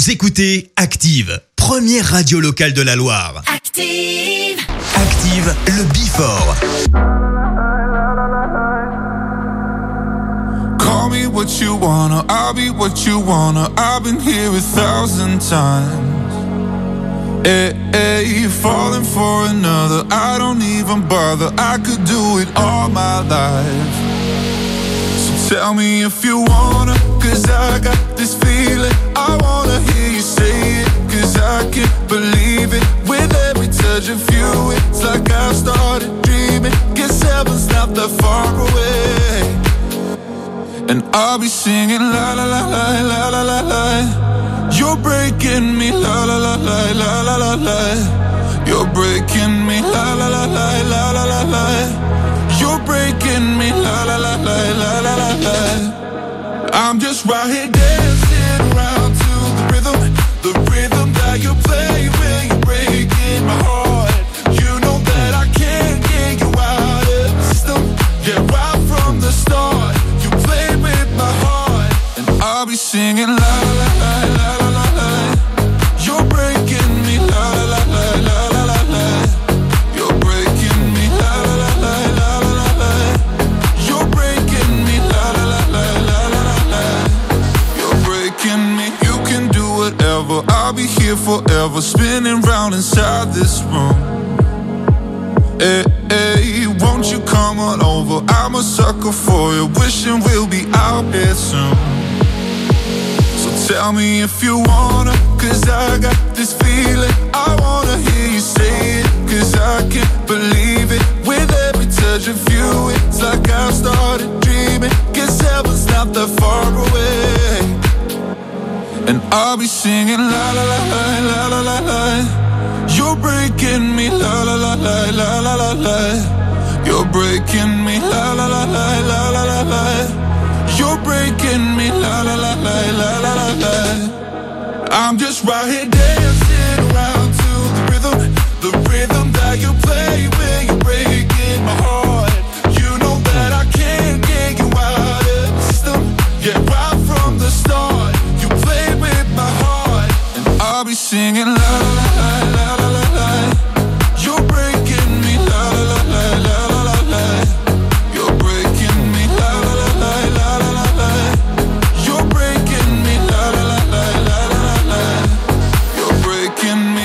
Vous écoutez Active, première radio locale de la Loire. Active, Active, le Before. Call me what you wanna, I'll be what you wanna. I've been here 1,000 times. Hey, hey, falling for another, I don't even bother. I could do it all my life. So tell me if you wanna, cause I got this feeling. I wanna hear you say it, cause I can't believe it. With every touch of you, it's like I've started dreaming. Guess heaven's not that far away. And I'll be singing la la la la la la la la. You're breaking me la la la la la la la la. You're breaking me la la la la la la la la. You're breaking me la la la la la la la la. I'm just right here dancing around to the rhythm that you play when you're breaking my heart. You know that I can't get you out of the system. Yeah, right from the start, you play with my heart, and I'll be singing la la la la la la la. You're breaking me la la la la la la la. You're breaking me la la la la la la la. You're breaking me la la la la la la la. You're breaking me. You can do whatever. I'll be here forever, spinning round inside this room. Hey, hey, won't you come on over? I'm a sucker for you, wishing we'll be out here soon. So tell me if you wanna, cause I got this feeling. I wanna hear you say it, cause I can't believe it. With every touch of you, it's like I've started dreaming. Guess heaven's not that far away. And I'll be singing la la la la la la la la. You're breaking me la la la la la la la la. You're breaking me la la la la la la la la. You're breaking me la la la la la la la la. I'm just right here dancing around to the rhythm that you play when you're breaking my heart. You know that I can't get you out of the system. Yeah, right from the start, you play with my heart, and I'll be singing la la la la la la la. You're breaking me la la la la la la la. You're breaking me la la la la la la la. You're breaking me la la la la la la la. You're breaking me.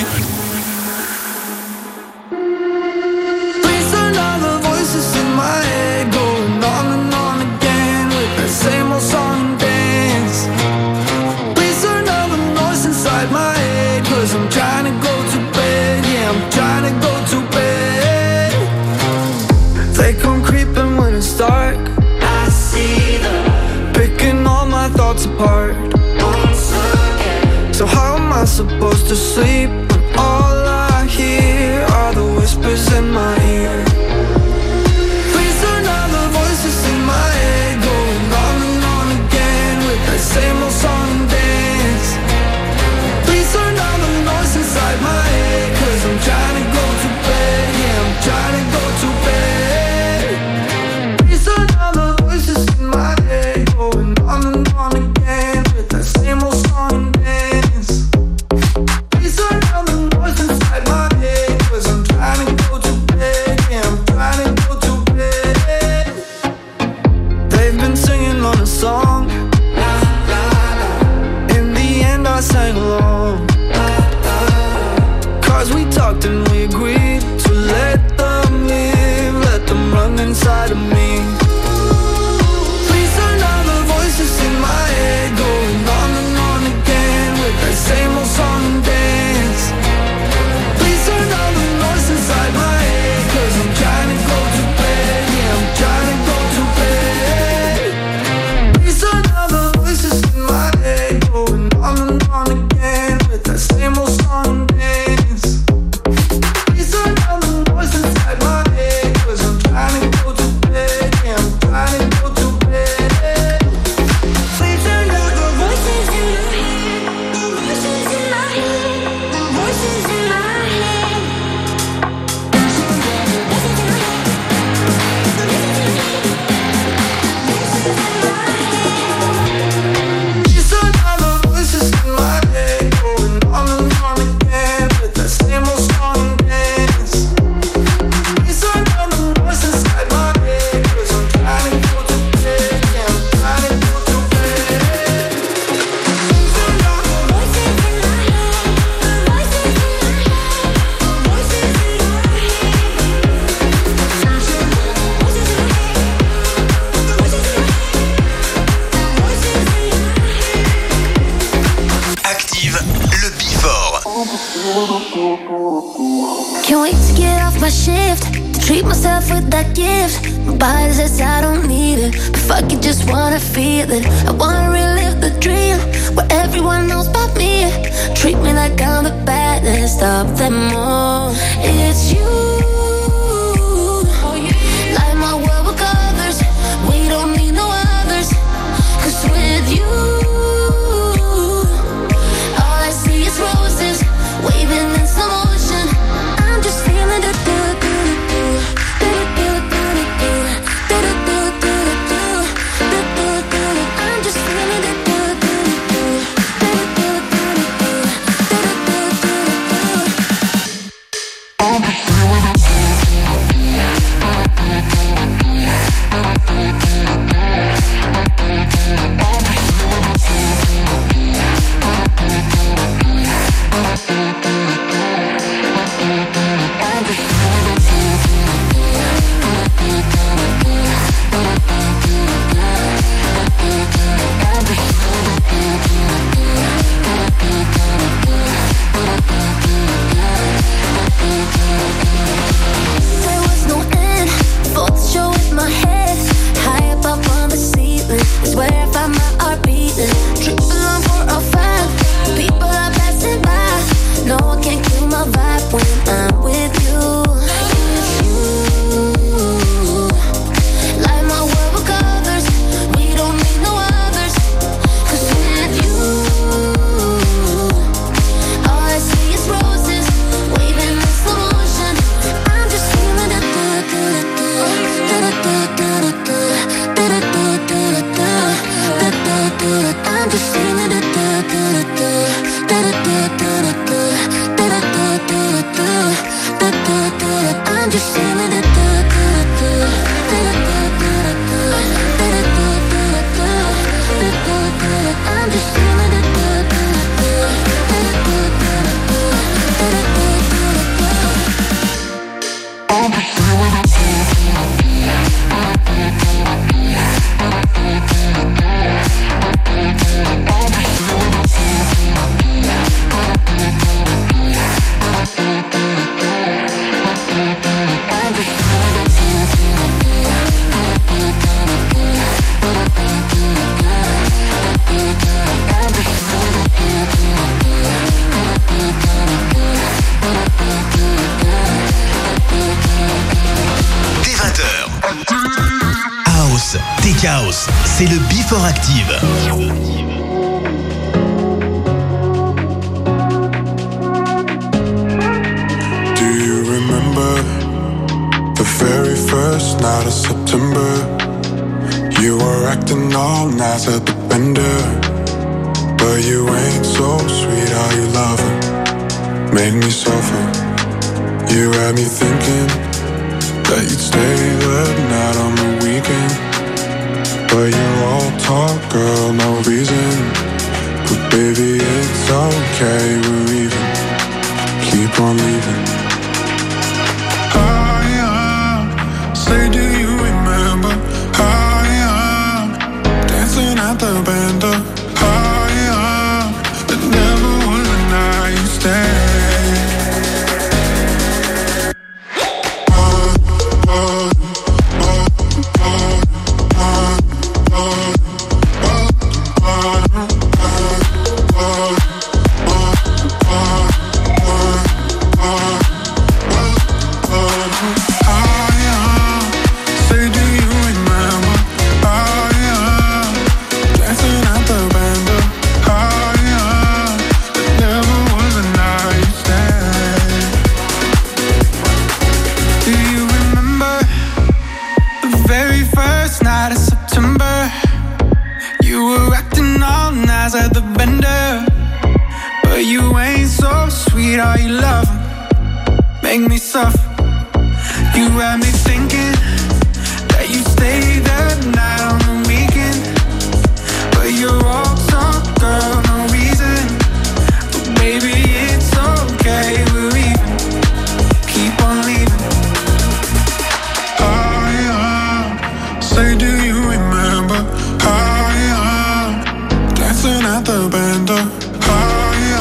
Please turn on the voices in my head, going on and on again with that same old song and dance. Please turn on the noise inside my head, cause I'm trying to go to bed. Yeah, I'm trying to go to bed. They come creeping when it's dark. I see them picking all my thoughts apart once again. So how am I supposed to sleep when all I hear are the whispers in my ear? Please turn on the voices in my head, going on and on again with that same old song and dance. Please turn on the noise inside my head, cause I'm trying to go to bed. Yeah, I'm trying to go to bed. Please turn on the voices in my head, going on and on again with that same old song and dance. Please turn on the Active, le Before. Can't wait to get off my shift, to treat myself with that gift. My body says I don't need it, but fuck it, just wanna feel it. I wanna relive the dream, where everyone knows about me. Treat me like I'm the baddest of them all. It's you. Light my world with colors, we don't need no others. 'Cause with you, all I see is roses, waving in slow motion. I'm just feeling the I'm just feeling the House, c'est le Before Active. Do you remember the very first night of September? You were acting all nice at the bender, but you ain't so sweet, how you love her, make me suffer. You had me thinking that you'd stay the night on the weekend, but you're all talk, girl, no reason. But baby, it's okay, we're leaving. Keep on leaving. Say, do you remember how dancing at the bender? How it never was a night you stay. Dancing at the bender, oh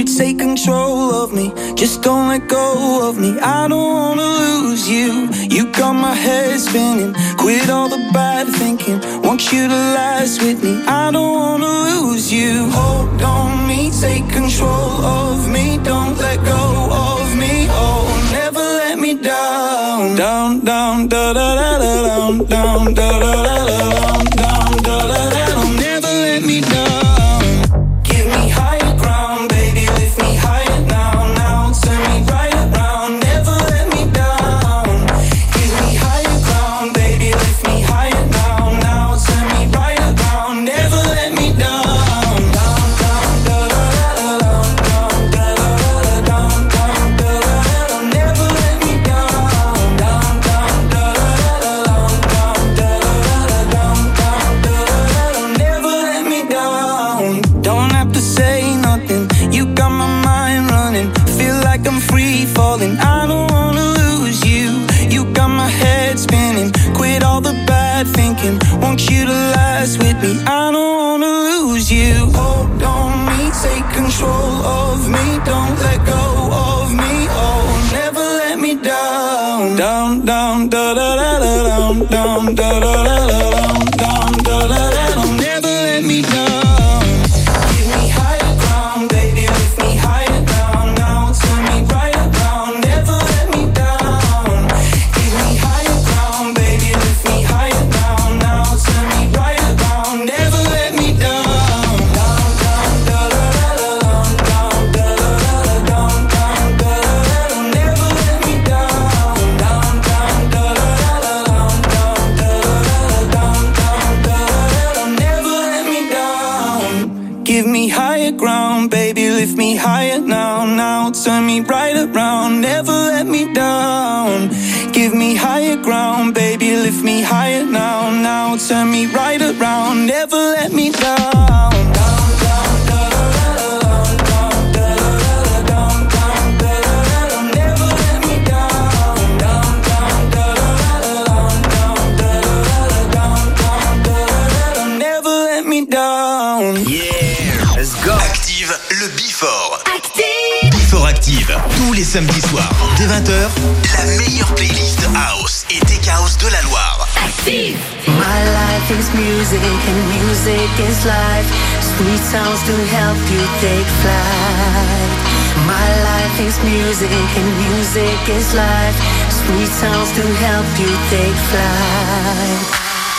take control of me. Just don't let go of me. I don't wanna lose you. You got my head spinning. Quit all the bad thinking. Want you to last with me. I don't wanna lose you. Hold on me, take control of me. Don't let go of me. Oh, never let me down. Down, down, da da da da, down, down, da da da da, down, down, da da da da. Never let me down. Give me higher ground, baby, lift me higher now, now. Turn me right around, never let me down. Give me higher ground, baby, lift me higher now, now. Turn me right around, never let me down. Down, down, da da da da, down, down, da da da da, down, down, da da da da. Never let me down. Down, down, da da da da, down, da da da da, down, down, da da da da. Never let me down. Don't have to say nothing. You got my mind running. Feel like I'm free falling. I don't wanna lose you. You got my head spinning. Quit all the bad thinking. Want you to last with me. I don't wanna lose you. Hold on me, take control of me. Don't let go of me. Oh, never let me down. Down, down, da da da da, down, down, da da da da, down, down, da da da da. Never let me down. Give me higher ground, baby, lift me higher now, now. Turn me right around, never let me down. Give me higher ground, baby, lift me higher now, now. Turn me right around, never let me down. Down, down, da da da da, down, da da da da, down, down, da da da da. Never let me down. Down, down, da da da da, down, da da da da, down, down, da da da da. Never let me down. Give me higher ground, baby, lift me higher now, now. Turn me right around, never let me down. Give me higher ground, baby, lift me higher now, now. Turn me right around, never let me down. Down, down, da da da da, down, da da da da, down, da da da da. Never let me down. Down, down, da da da da, down, da da da da, down, da da da da. Never let me down. Yeah, Let's go. Active le Before. Before Active, tous les samedis soirs, dès 20h, la meilleure playlist House et Tech House de la Loire. My life is music and music is life. Sweet sounds to help you take flight. My life is music and music is life. Sweet sounds to help you take flight.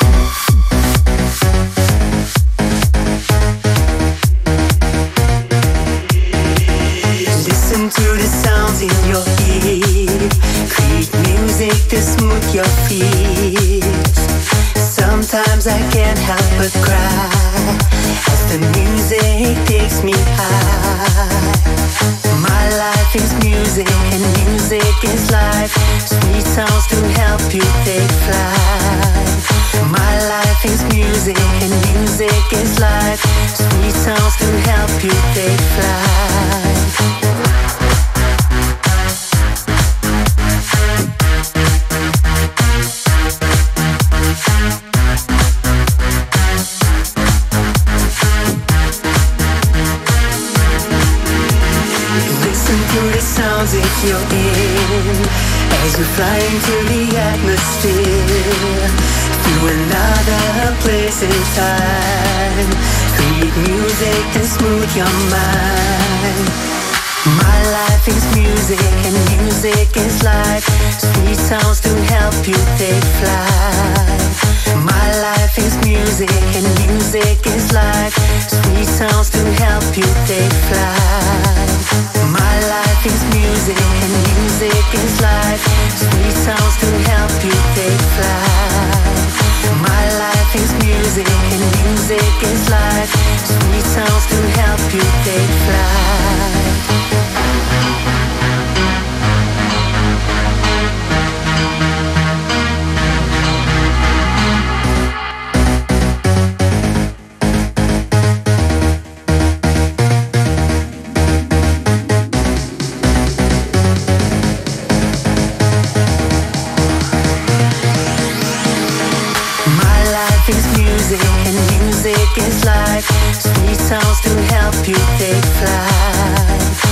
Listen to the sounds in your ear. Create music to smooth your feet. Sometimes I can't help but cry as the music takes me high. My life is music and music is life. Sweet sounds to help you take flight. My life is music and music is life. Sweet sounds to help you take flight. If you're in, as you fly into the atmosphere, through another place in time, create music to smooth your mind. My life is music and music is life. Sweet sounds to help you take flight. My life is music and music is life. Sweet sounds to help you take flight. My life is music and music is life. Sweet sounds to help you take flight. My life is music and music is life. Sweet sounds to help you take flight. Music is life, sweet sounds to help you take flight.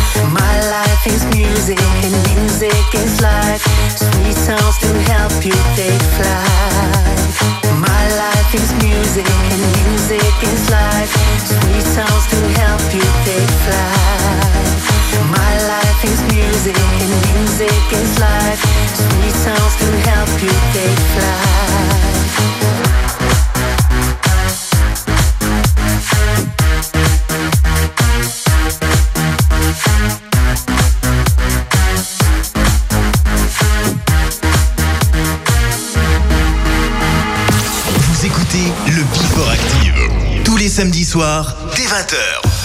life is music and music is life. Sweet sounds to help you take flight. My life is music and music is life. Sweet sounds to help you take flight. My life is music and music is life. Sweet sounds to help you take flight. Vous écoutez le Before Active tous les samedis soirs dès 20h.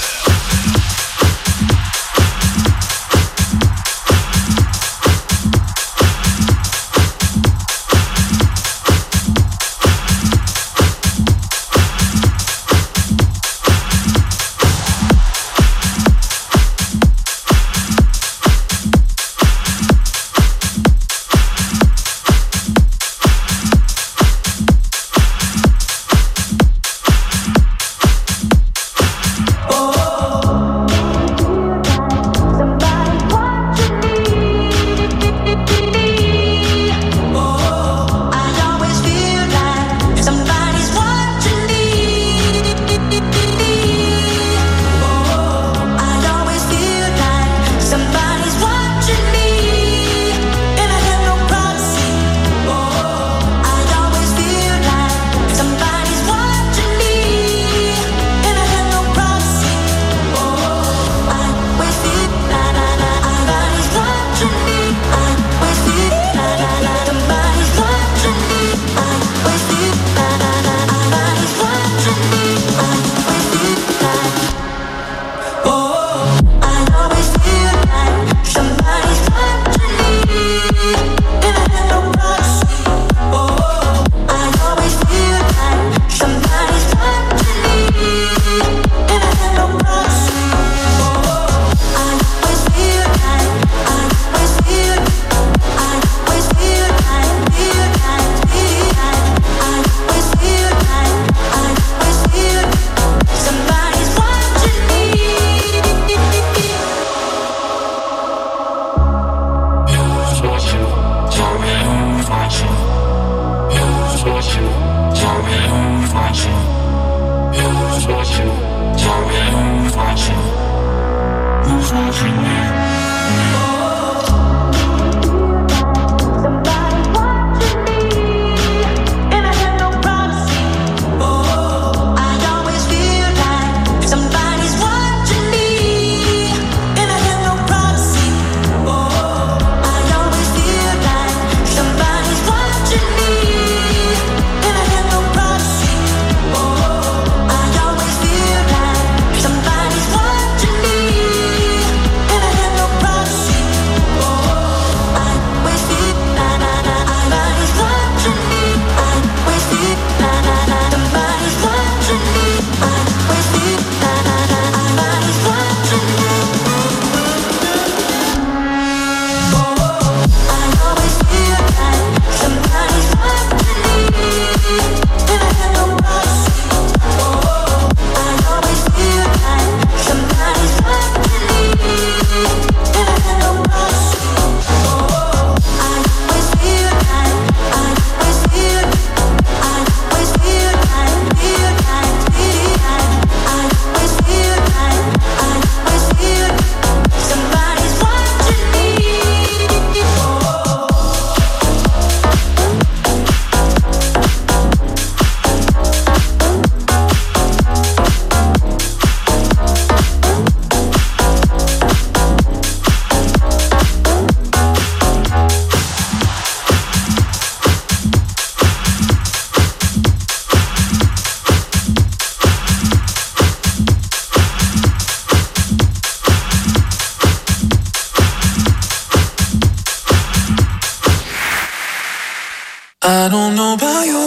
I don't know about you,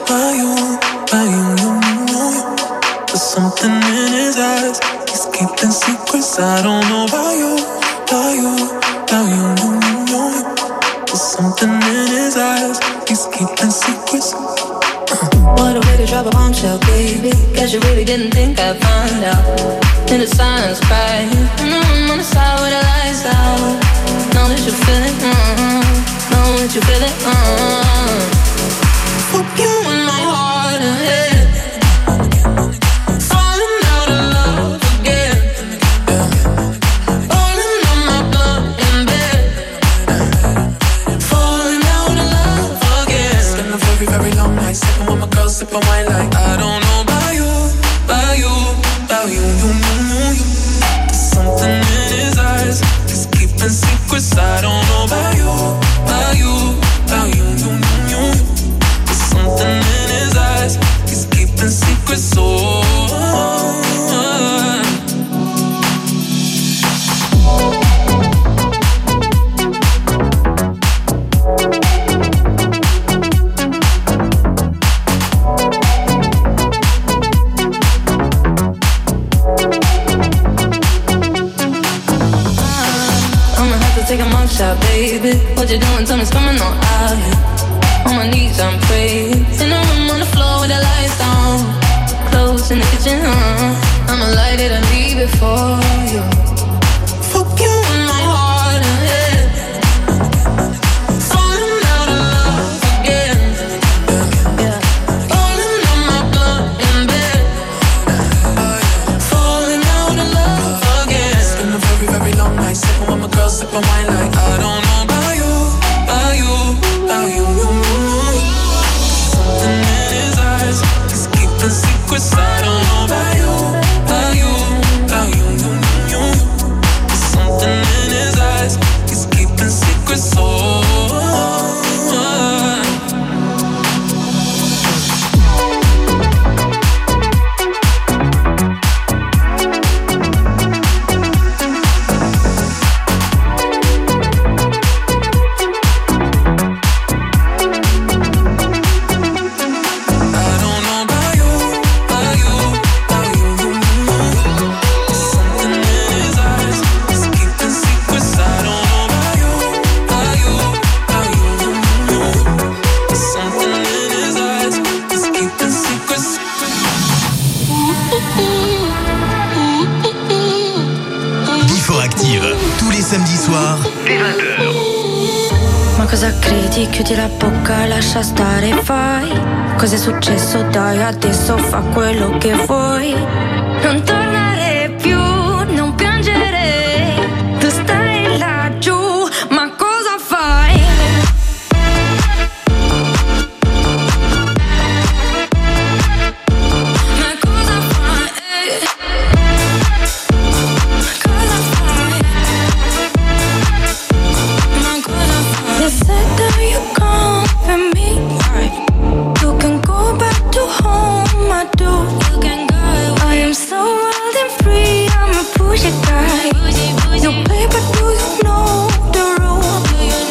there's something in his eyes, he's keeping secrets. I don't know about you, there's something in his eyes, he's keeping secrets. What a way to drop a bombshell, baby. Guess you really didn't think I'd find out. In the silence, crying. On the side with the lights out. Know that you feel it, know that you feel it, Fuck you in my heart and head. Falling out of love again. Falling on my blood in bed. Falling out of love again. It's been a very, very long night. Sipping with my girl, sipping wine like I don't know about you, about you, about you, you. Something in his eyes is keeping secrets. I don't know about you, about you, about you, you. There's something in his eyes, he's keeping secrets. So take a mugshot, baby. What you doing? Tell me it's coming on out here. On my knees, I'm praying. In the room on the floor with the lights down. Clothes in the kitchen, I'ma light it and leave it for you. Fuck you in my heart and head. Falling out of love again. Yeah. Falling on my blood in bed. Falling out of love again. It's been a very, very long night. Sipping with my girl, sipping wine like I don't know about you, about you, about you. Something in his eyes, he's keeping secrets. I don't know about you, about you, about you. There's something in his eyes, he's keeping secrets. Samedi soir, dès 20h. Ma cosa credi? Chiudi la bocca, lascia stare, fai. Cos'è successo? Dai, adesso fa quello che vuoi. Non tornare più, non piangere. Tu stai laggiù, ma cosa fai? Ma cosa fai? Cosa fai? You said that you come for me. You can go back to home, I do. You can go. I am so wild and free, I'm a pushy guy. You play, but do you know the rule?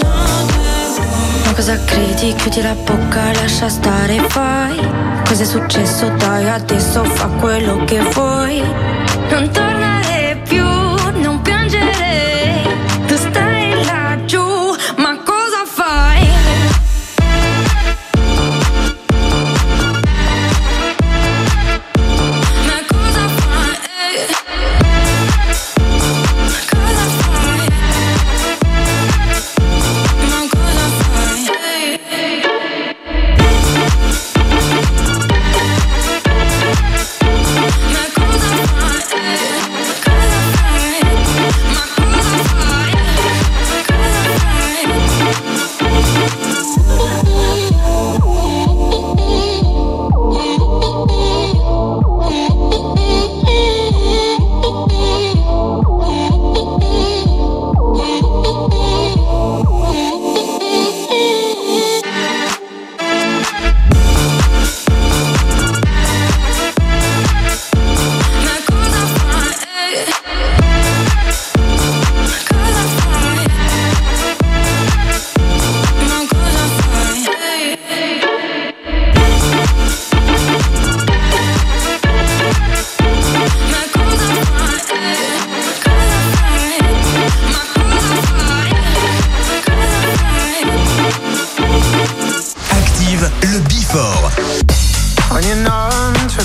Ma cosa credi? Chiudi la bocca, lascia stare, fai. Cos'è successo? Dai, adesso fa quello che vuoi. Non tornare più, non piangere. Tu stai laggiù, ma cosa fai? Ma cosa fai? Cosa fai? Ma cosa fai? Ma cosa fai?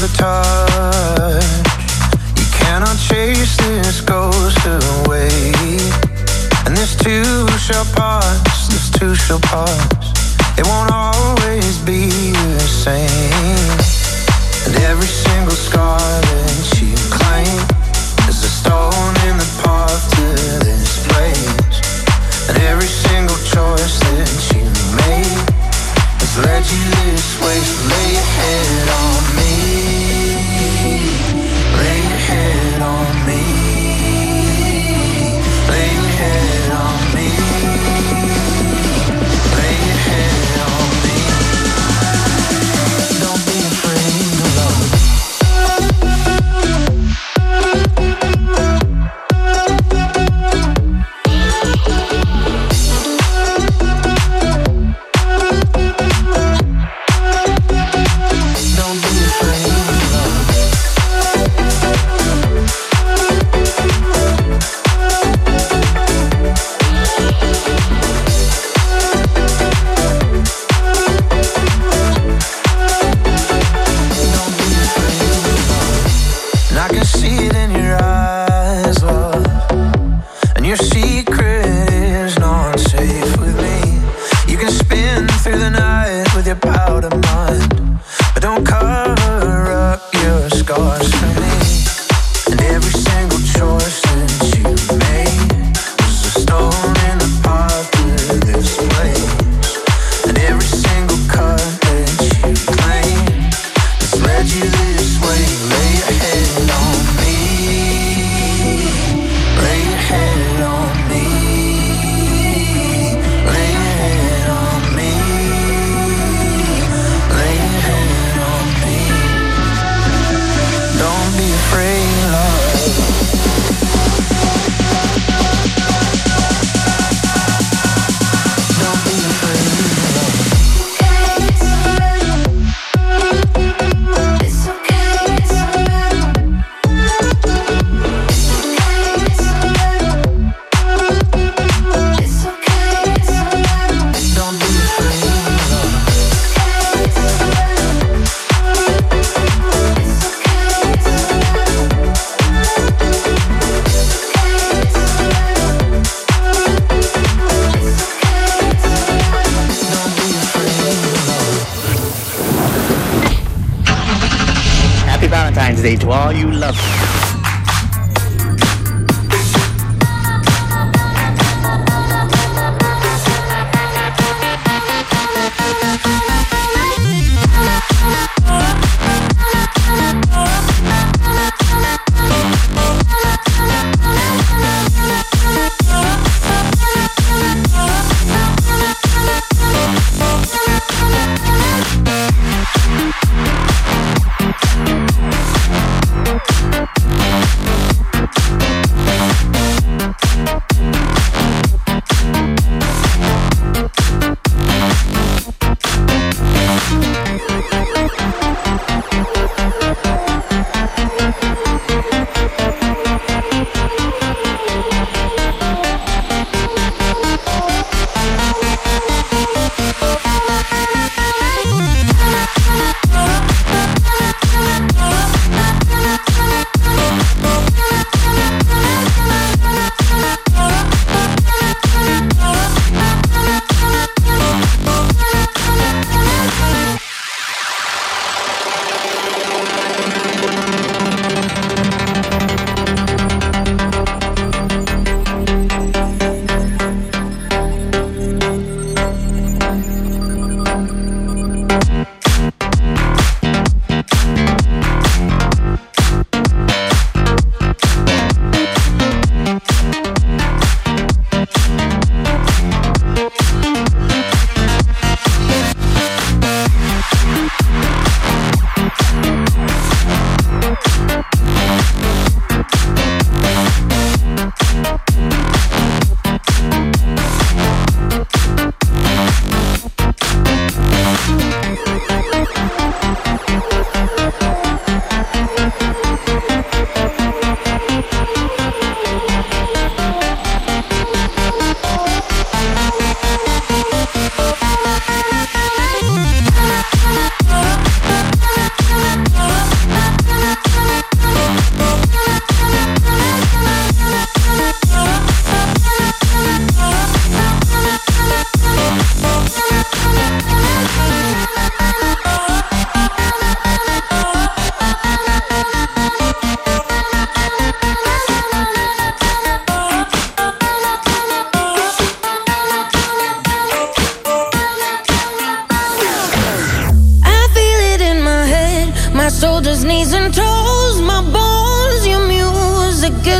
the touch. You cannot chase this ghost away. And this too shall pass, this too shall pass. It won't always be the same. And every single scar that you claim is a stone in the path to this place. And every single choice that you made has led you this way. So lay your head on me, lay your head on me, lay your head on me, lay your head on me. Don't be afraid of love. Day to all you love.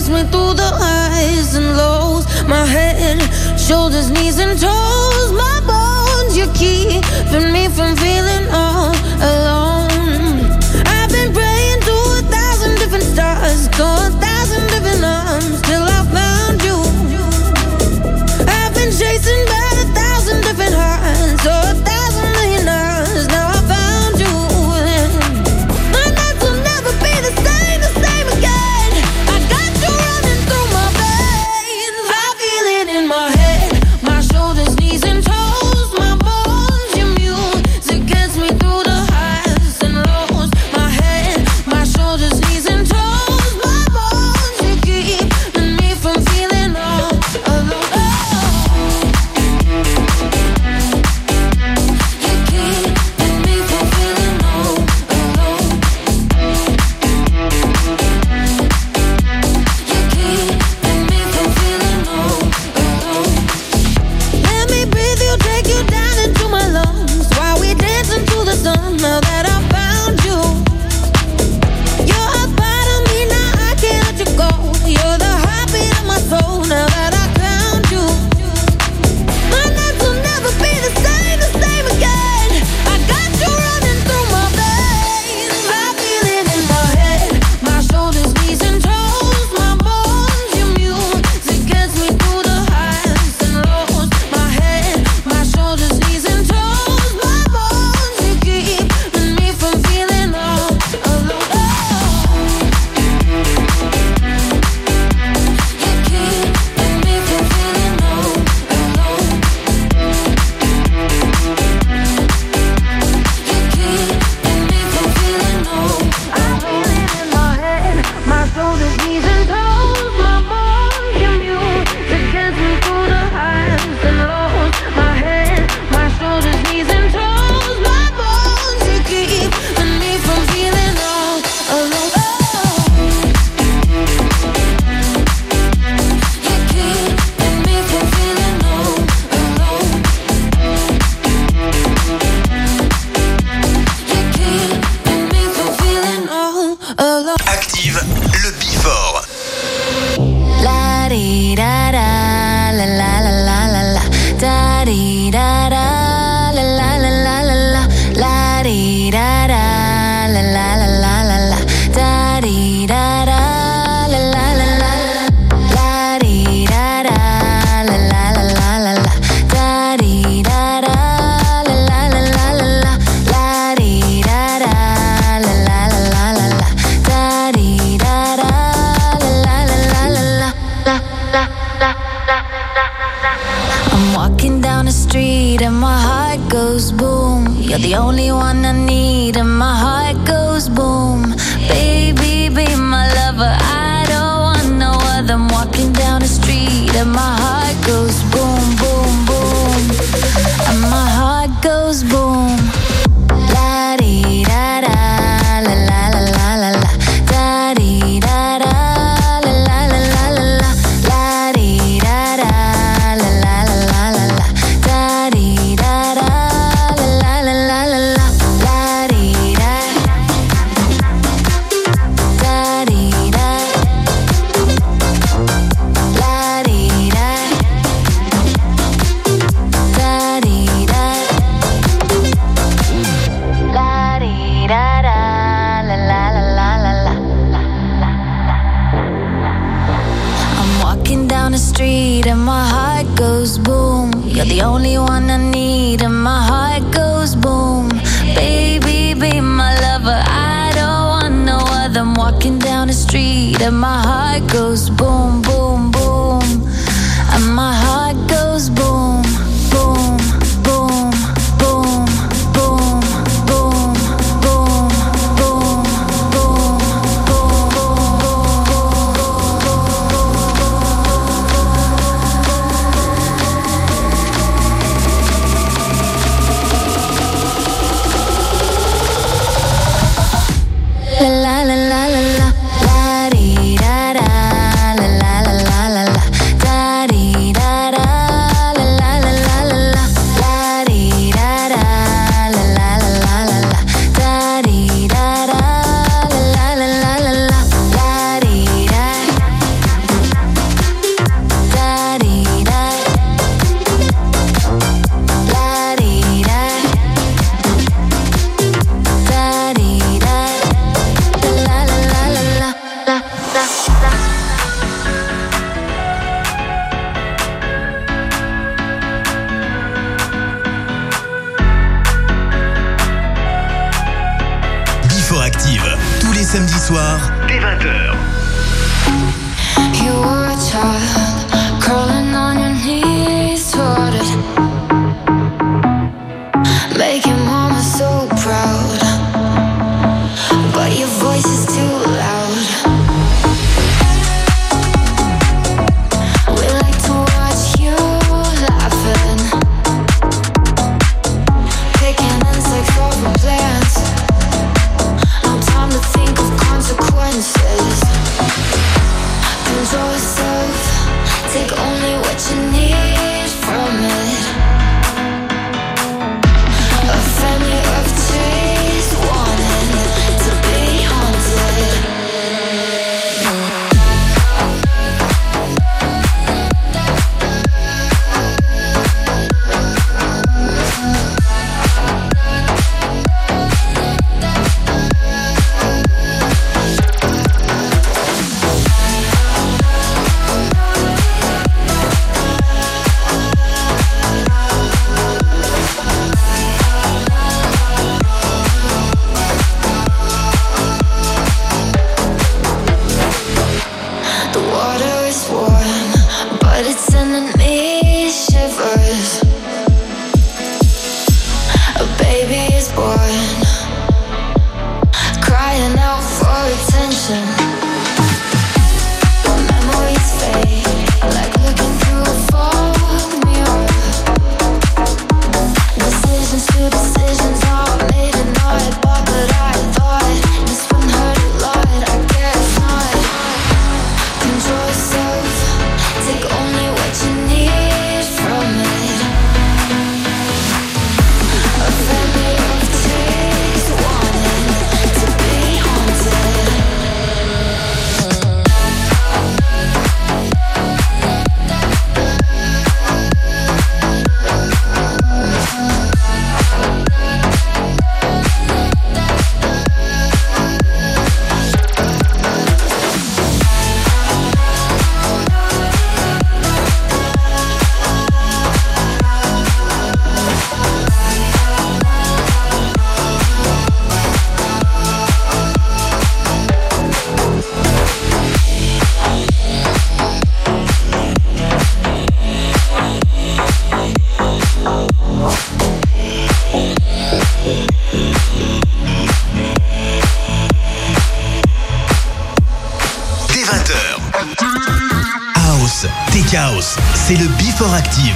gets me through the highs and lows. My head, shoulders, knees and toes. My bones, you're keeping me from feeling all alone. I've been praying to 1,000 different stars, to 1,000 different arms, till I found you. I've been chasing by 1,000 different hearts, or 1,000 million hours. Now I found you. My nights will never be the same again. I got you running through my veins. I feel it in my head, my shoulders, knees and toes. My bones, your music gets me through the highs and lows. My head, my shoulders, knees and toes. My bones, you keeping me from feeling all alone. Let me breathe you, take you down into my lungs, while we dance into the sun. Now that I found you, you're a part of me, now I can't let you go. You're the heartbeat of my soul. Now that I found you, my nights will never be the same again. I got you running through my veins. I feel it in my head, my shoulders, knees and toes. My bones, your music gets me through the highs and lows. My head, my shoulders, knees and toes. My bones, you keeping me from feeling all alone. You keeping me from feeling all alone. You keeping me from feeling all. I feel it in my head, my shoulders, knees and toes. My bones, your music gets me through the highs and lows. My head, my shoulders, knees and toes. My bones, you keeping me from feeling all alone. You keeping me from feeling all alone. You keeping me from feeling all alone. Active le Before. La di da da, la la la la la la, da di da da, la la la la la la, la di da da, la la la la la la, da di da da, la la la la la, la di da da, la la la la la la, da di da da, la la la la la la, la di da da, la la la la la la, da di da da, la la la la la la. I'm walking down the street and my heart goes boom. You're the only one I need and my heart goes boom. Baby, be my lover, I don't want no other. I'm walking down the street and my heart goes boom, boom, boom. And my heart goes boom. La di da da, la la la la la la, da di da da, la la la la la la, la di da da, la la la la la la, da di da da, la la la la la la, la di da, da di da, la di da, da di da, la di da da, la la la la la la. I'm walking down the street and my heart goes boom. You're the only one I need and my heart goes boom. Baby, be my lover, I don't want no other. I'm walking down the street and my heart goes boom, boom, boom. And my heart goes boom, boom, boom, boom, boom, boom, boom, boom, boom, la la la la la, la di da da, la la la la la la, da di da da, la la la la la la, la di da da, la la la la la la, da di da da, la la la la la la, la di da. samedis soirs, dès 20h. You were a child, crawling on your knees toward it, making mama so proud, but your voice is too loud. We like to watch you laughing, picking insects over plants. No time to think of consequences. Control yourself, take only what you need from it. A family of trees wanting to be haunted. The water is warm, but it's sending me shivers. A baby is born, crying out for attention. The memories fade, like looking through a fog mirror. Decisions are made and I bought, but I thought this one hurt a lot. I guess not. Control yourself, take only what you need from it. A family of trees wanting to be haunted. Dès 20h. House, Tech House, c'est le Before Active.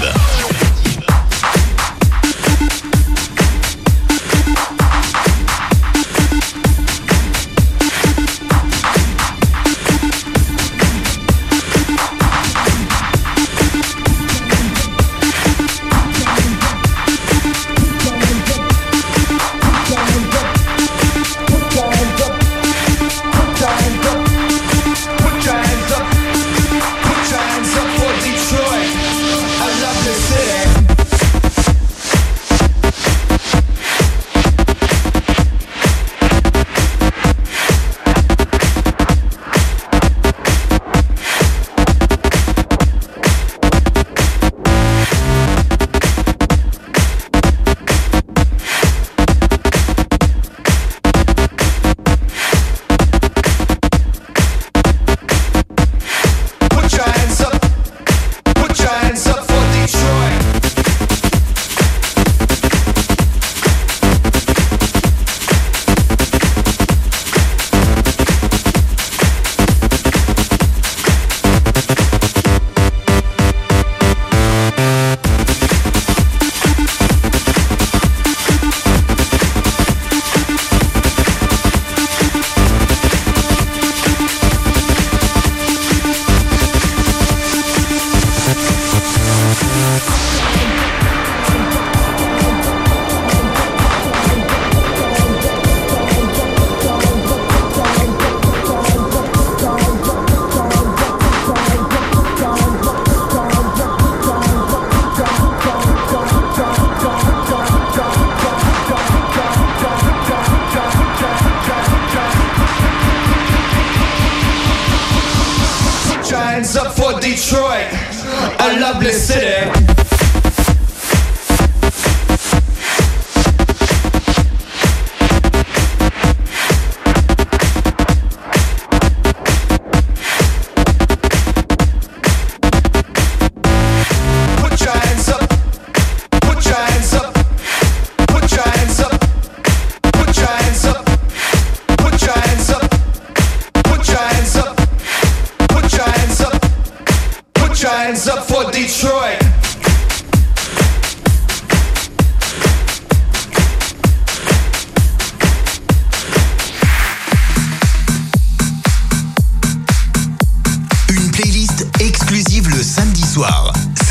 Detroit, a lovely city.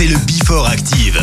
c'est le Before Active.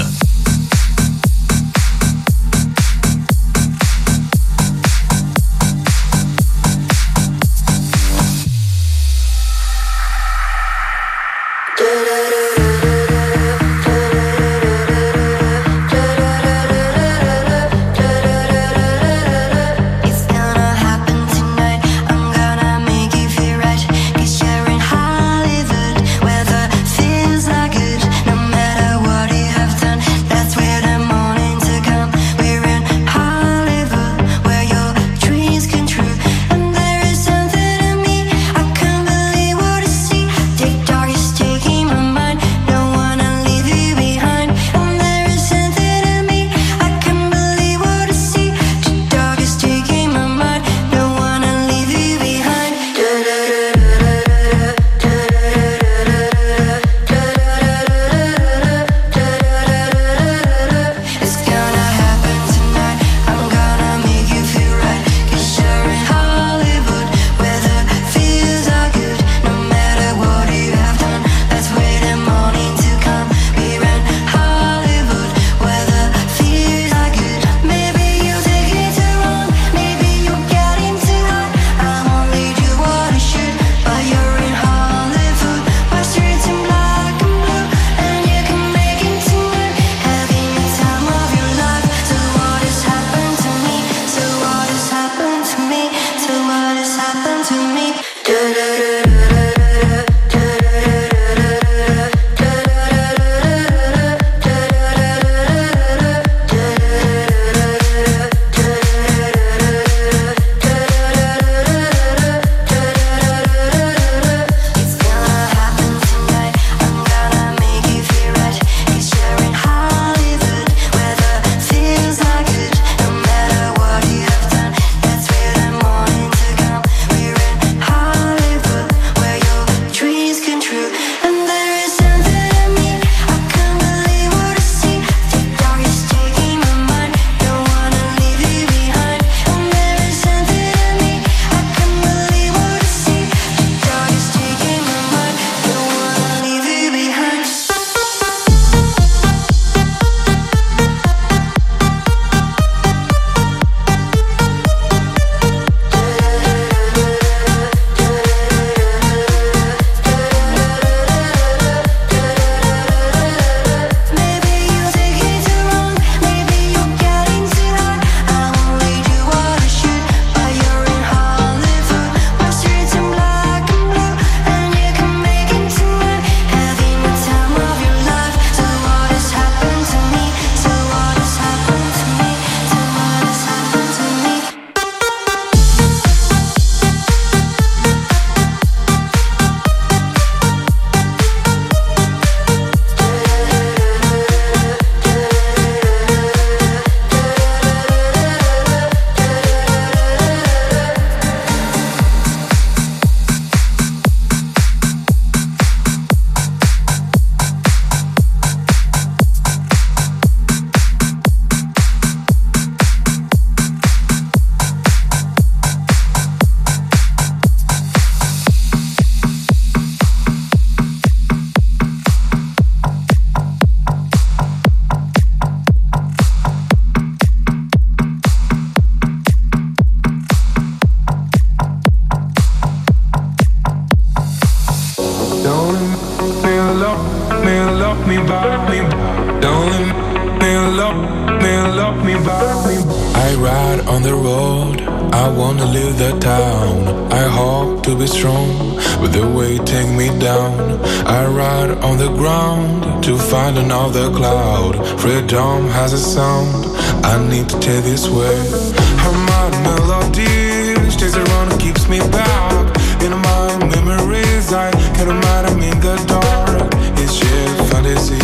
I ride on the road, I wanna leave the town. I hope to be strong, but the weight take me down. I ride on the ground to find another cloud. Freedom has a sound, I need to take this way. Her mind melody stays around and keeps me back. In my memories, I can't imagine in the dark. It's just fantasy,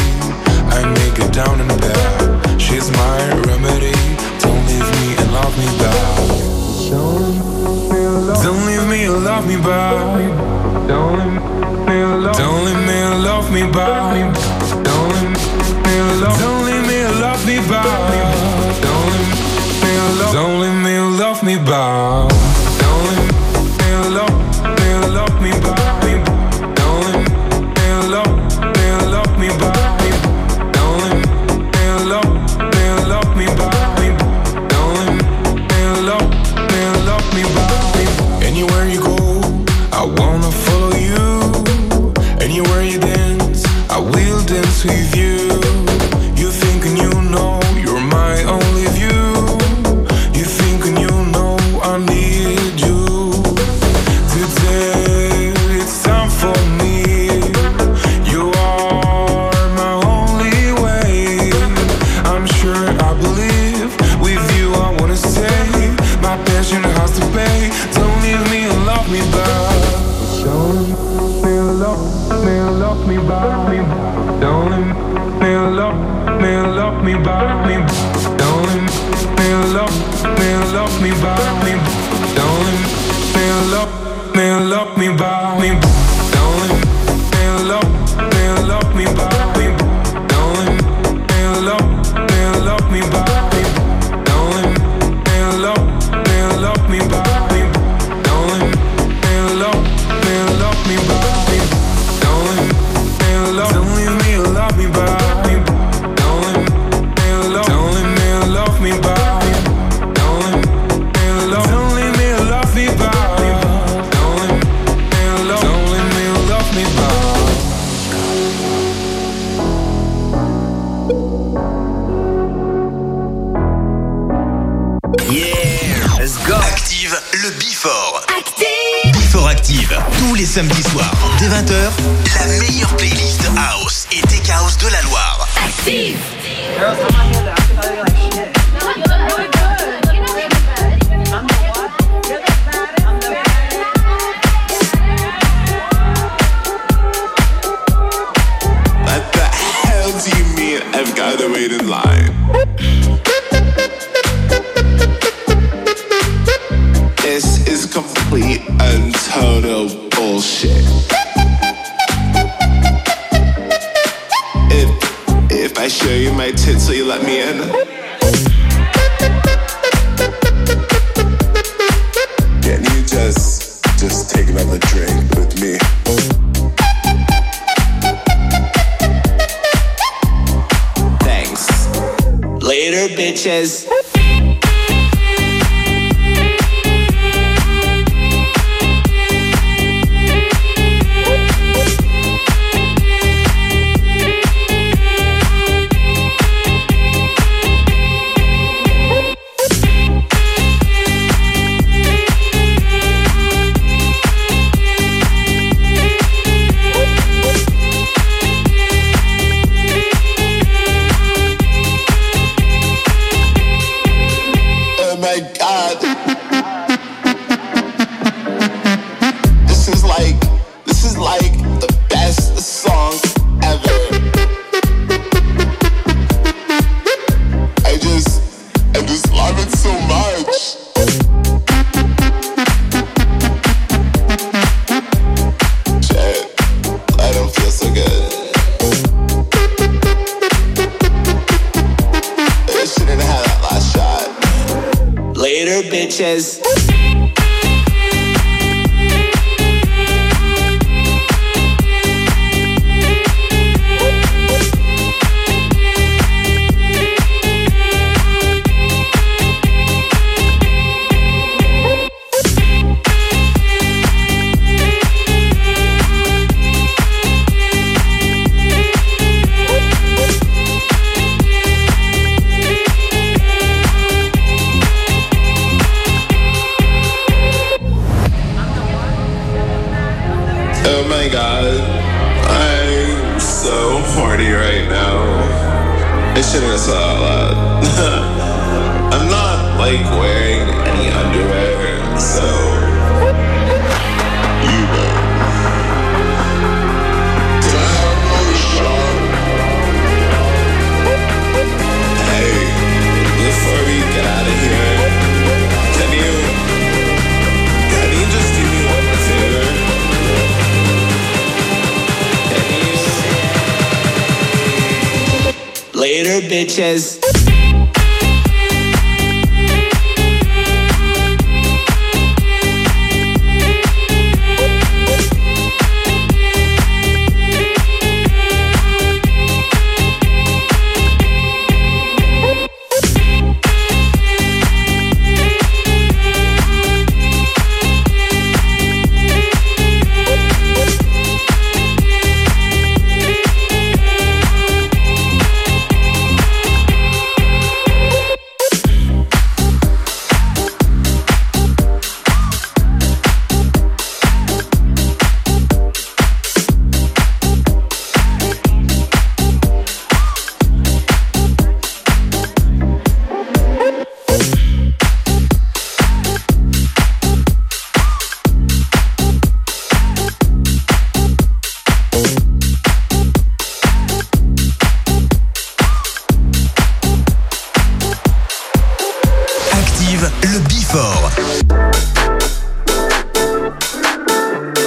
I make it down and back. She's my remedy, don't leave me and love me back. Don't leave me and love me back. Don't leave me and love me back. Don't leave me and love me back. Don't leave me and love me back. Don't leave me and love me back. Don't leave me and love me back. love me back. Don't let me love me back. Don't let me love me back. Don't let me love me back. Don't let me love me back. Don't let me love me back. Don't let me love me back. Active le Before. Before Active, tous les samedis soirs, dès 20h, la meilleure playlist House et Tech House de la Loire. Active. What the hell do you mean I've gotta wait in line? This is complete and total bullshit. If I show you my tits, will you let me in? Can you just take another drink with me? Thanks. Later, bitches. Bitches. Oh my god, I'm so horny right now. I shouldn't have said all that. I'm not like wearing any underwear, so you know. Did I have another shot? Hey, before we get out of here, can you just do me one favor? Later, bitches. Le Before.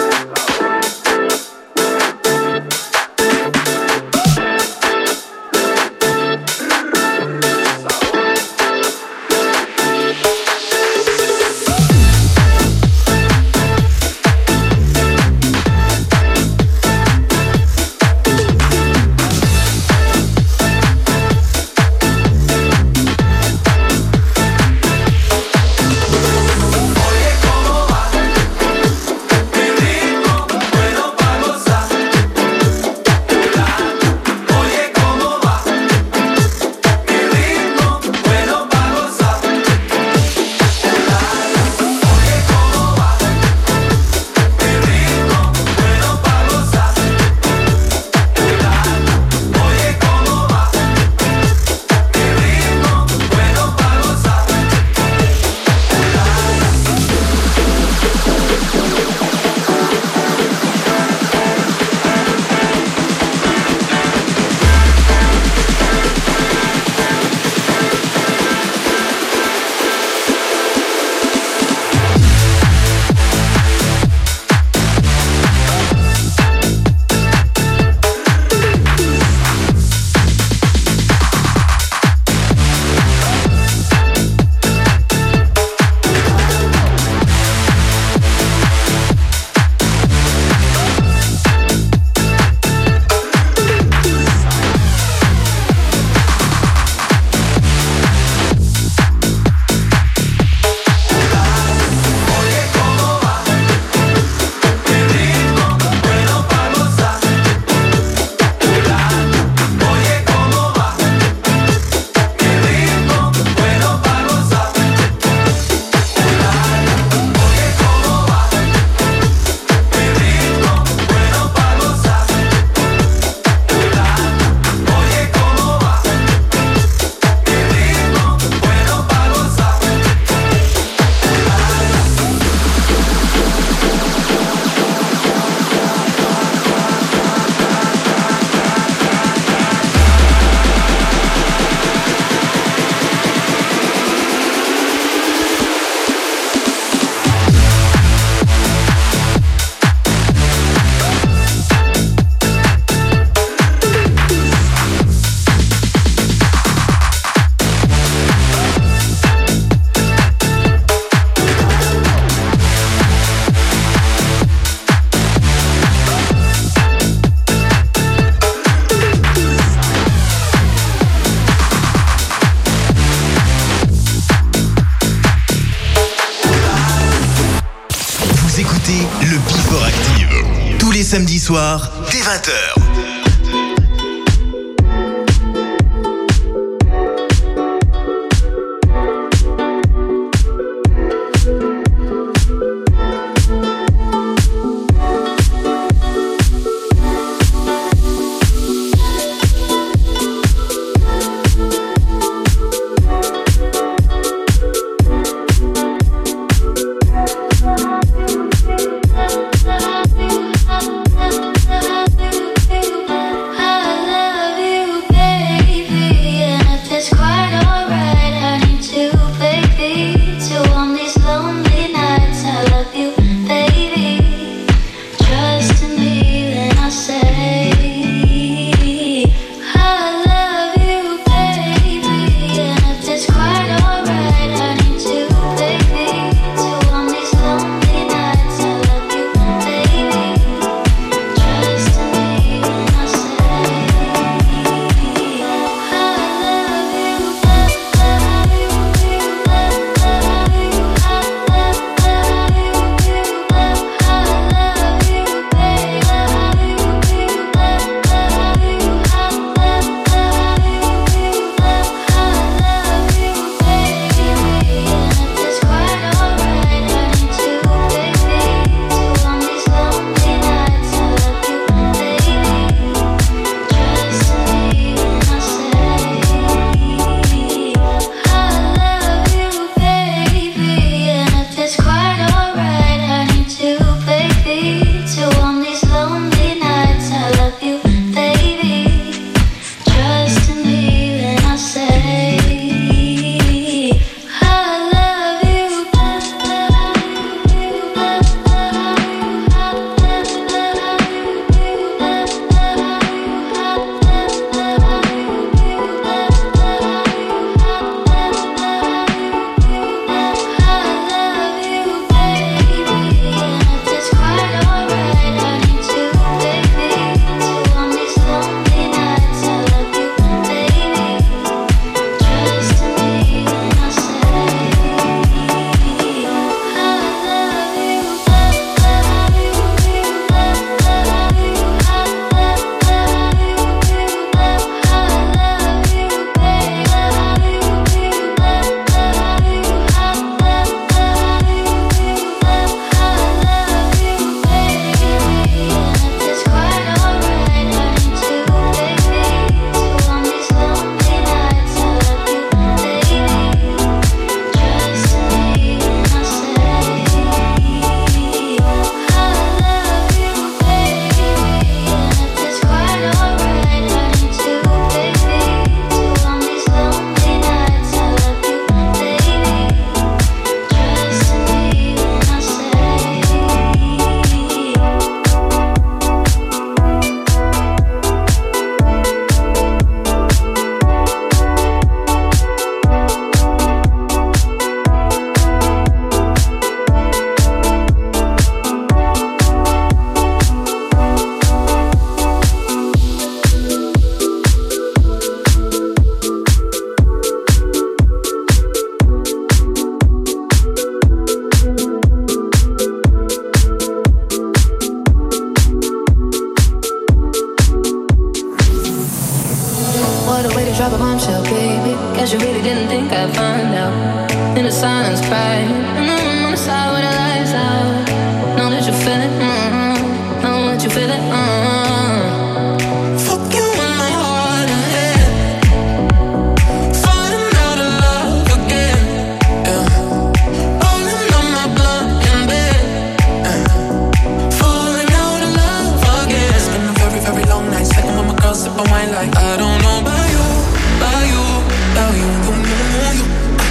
samedis soirs, dès 20h.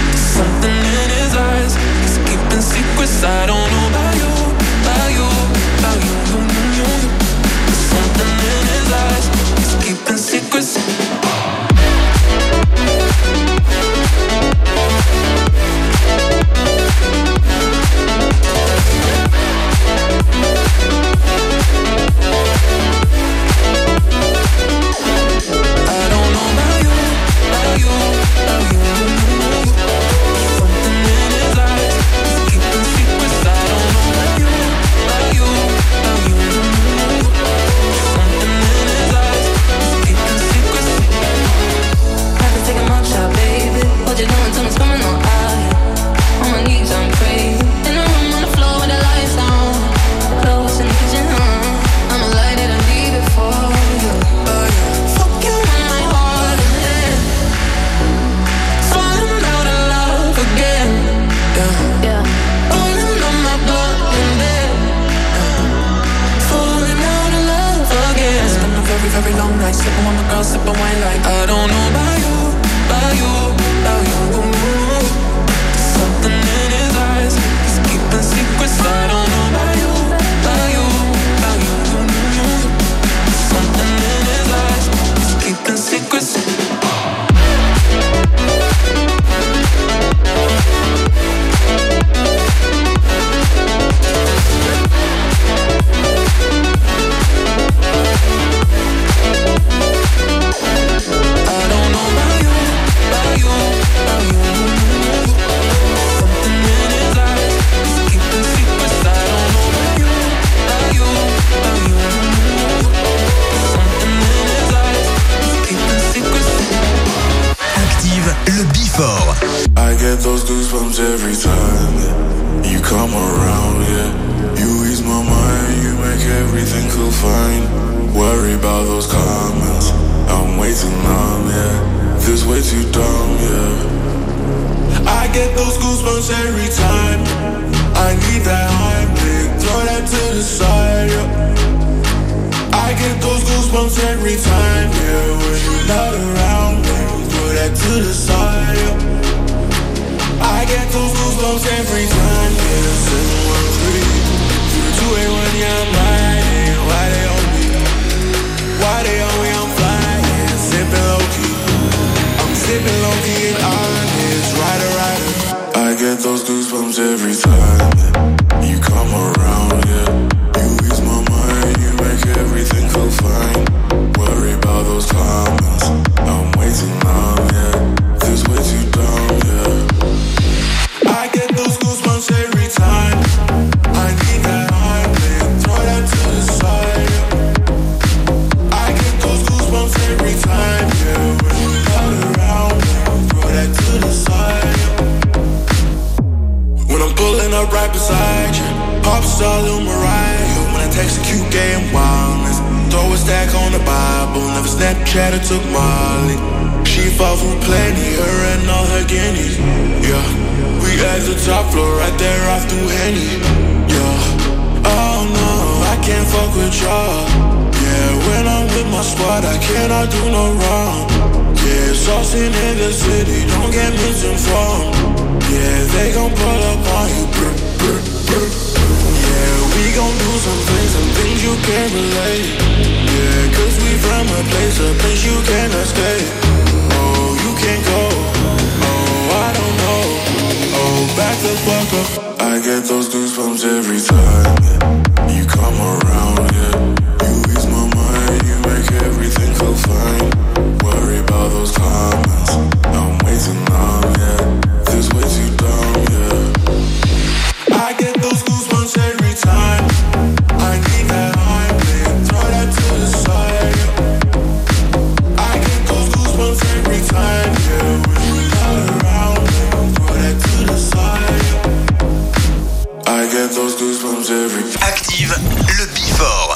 I don't know about you, get those goosebumps every time, yeah. You come around, yeah. You ease my mind, you make everything feel fine. Worry about those comments, I'm way too numb, yeah. This way too dumb, yeah. I get those goosebumps every time. I need that Heimlich, throw that to the side, yeah. I get those goosebumps every time, yeah. When you're not around me, throw that to the side, yeah. I get those goosebumps every time, yeah. 713, 281, yeah, I'm riding. Why they on me? Why they on me? I'm flying, sipping low-key. I'm sipping low-key and honest, rider. I get those goosebumps every time, yeah. You come around, yeah. You ease my mind, you make everything feel fine. Worry about those comments, I'm way too numb, yeah. This way too dumb, yeah. I get those goosebumps every time. I need that Heimlich, throw that to the side, yeah. I get those goosebumps every time, yeah. When you're not around me, throw that to the side, yeah. When I'm pulling up right beside you, pop star Lil Mariah. When I text a cute game wildness, throw a stack on the Bible. Never Snapchat or took Molly. She fought for plenty, her and all her guineas. Yeah, we at the top floor, right there off through Henny. Yeah, oh no, I can't fuck with y'all. Yeah, when I'm with my squad, I cannot do no wrong. Yeah, saucing in the city, don't get misinformed. Yeah, they gon' pull up on you, brr, brr, brr. Yeah, we gon' do some things you can't relate. Yeah, cause we from a place you can't escape. Oh, you can't go. Oh, I don't know. Oh, back the fuck up. I get those goosebumps every time, yeah. You come around, yeah. You ease my mind, you make everything feel fine. Worry about those comments, I'm way too numb, yeah. This way too dumb, yeah. I get those goosebumps every time. I need that Heimlich, throw that to the side, yeah. I get those goosebumps every time, yeah. When you're not around me, throw that to the side, yeah. I get those goosebumps every time. Active le Before.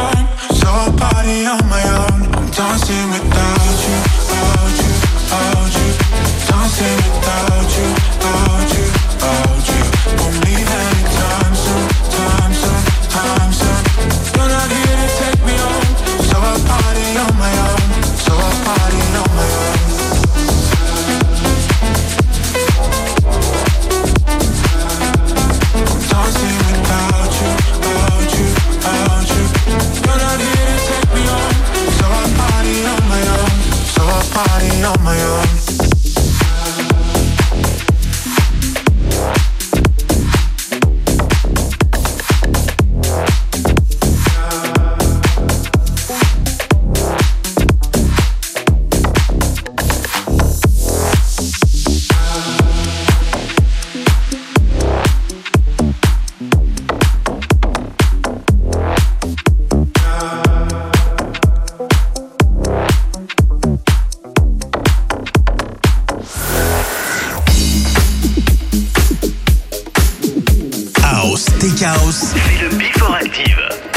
Party on my own, I'm dancing without you, without you, without you. Tech House, c'est le Before Active.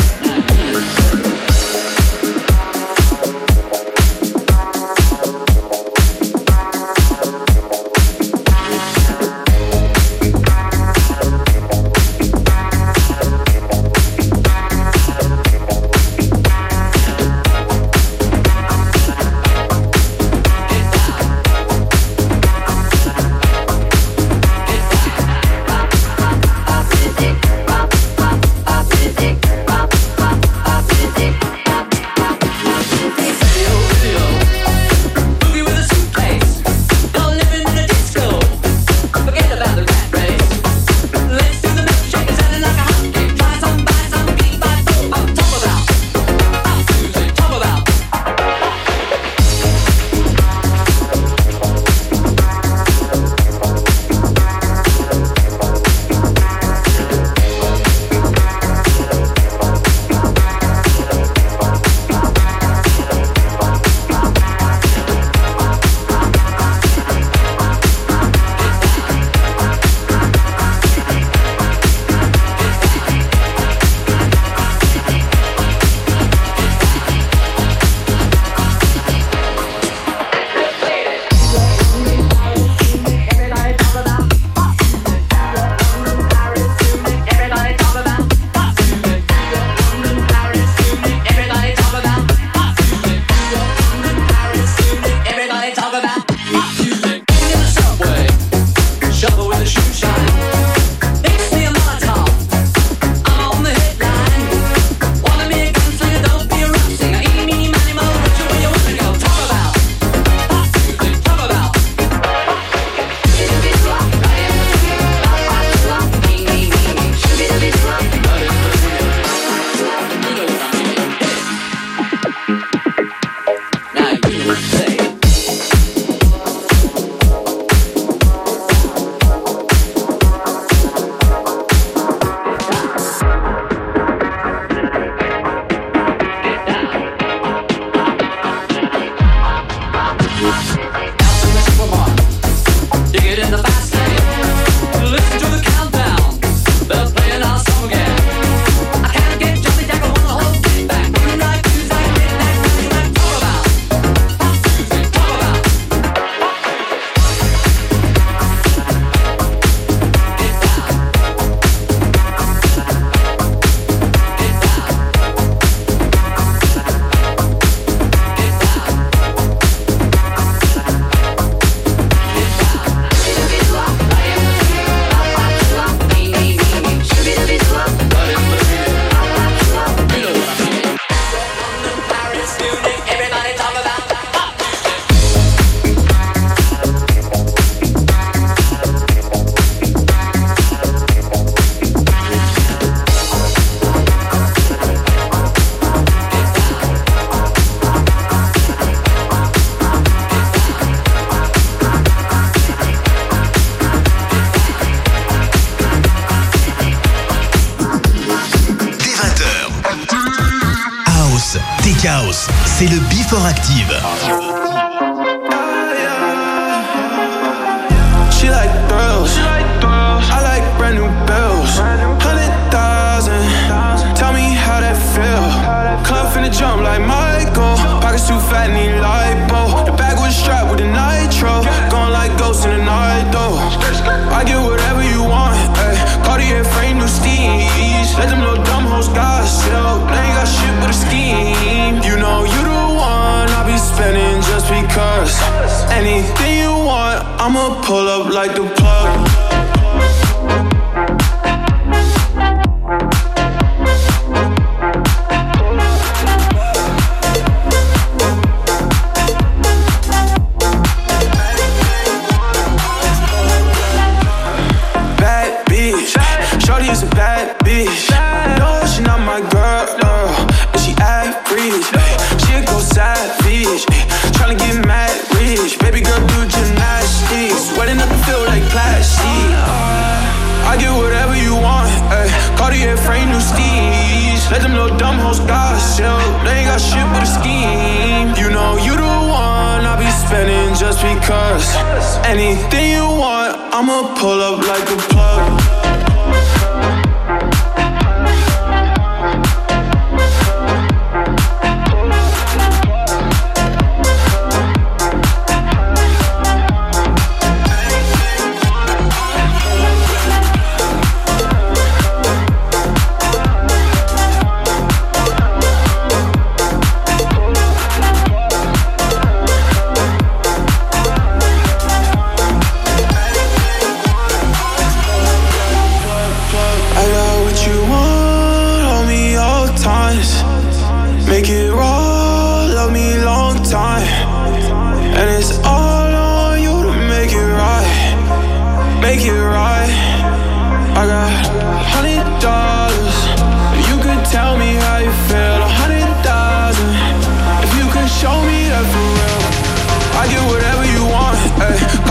House, c'est le Before Active. She like thrills. I like brand new bills. 100,000. Tell me how that feel. Club finna jump like Michael. Pockets too fat, need lipo. The bag was strapped with a nitro. Going like ghosts in the night though. I get whatever you want. Ay. Cartier frame, new steez. Let them little dumb hoes gossip. They ain't got shit but a scheme. You know you the one I'll be spending just because. Anything you want, I'ma pull up like the plug. Bad bitch, shorty is a bad bitch. No, she not my girl, and she average. She go savage, tryna get mad rich. Baby girl do gymnastics, wetting up the field like plastic. I get whatever you want, ayy. Cartier frame, new steez. Let them little dumb hoes gossip. They ain't got shit but a scheme. You know you the one I'll be spending just because. Anything you want, I'ma pull up like a plug.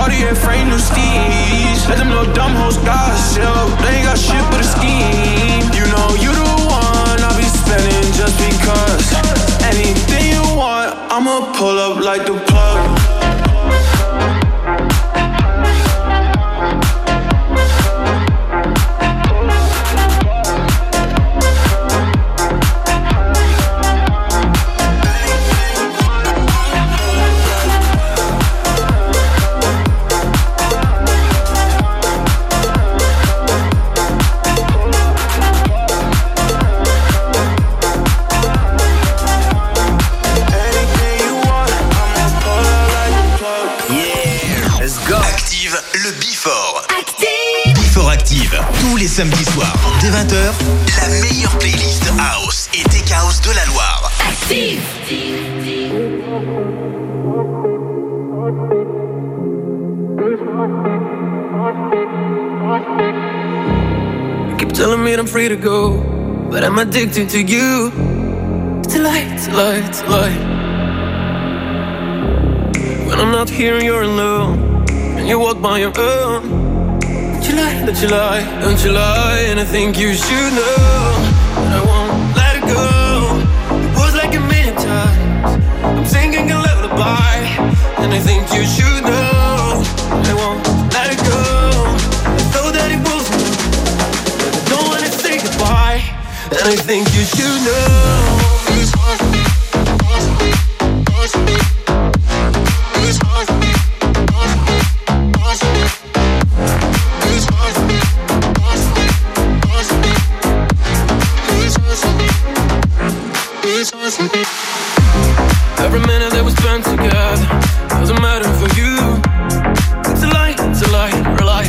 Cartier frame new steez. Let them little dumb hoes gossip. They ain't got shit but a scheme. You know you the one I'll be spending just because. Anything you want, I'ma pull up like the plug. Tous les samedis soirs, dès 20h, la meilleure playlist House et Tech House de la Loire. Active! You keep telling me I'm free to go, but I'm addicted to you. It's a lie, it's a lie, it's a lie. When I'm not here, you're alone, and you walk by your own. Don't you lie, don't you lie, and I think you should know that I won't let it go. It was like a million times, I'm singing a lullaby, and I think you should know that I won't let it go. I thought that it was enough, but I don't wanna say goodbye, and I think you should know. Every minute that we spent together doesn't matter for you. It's a lie, rely.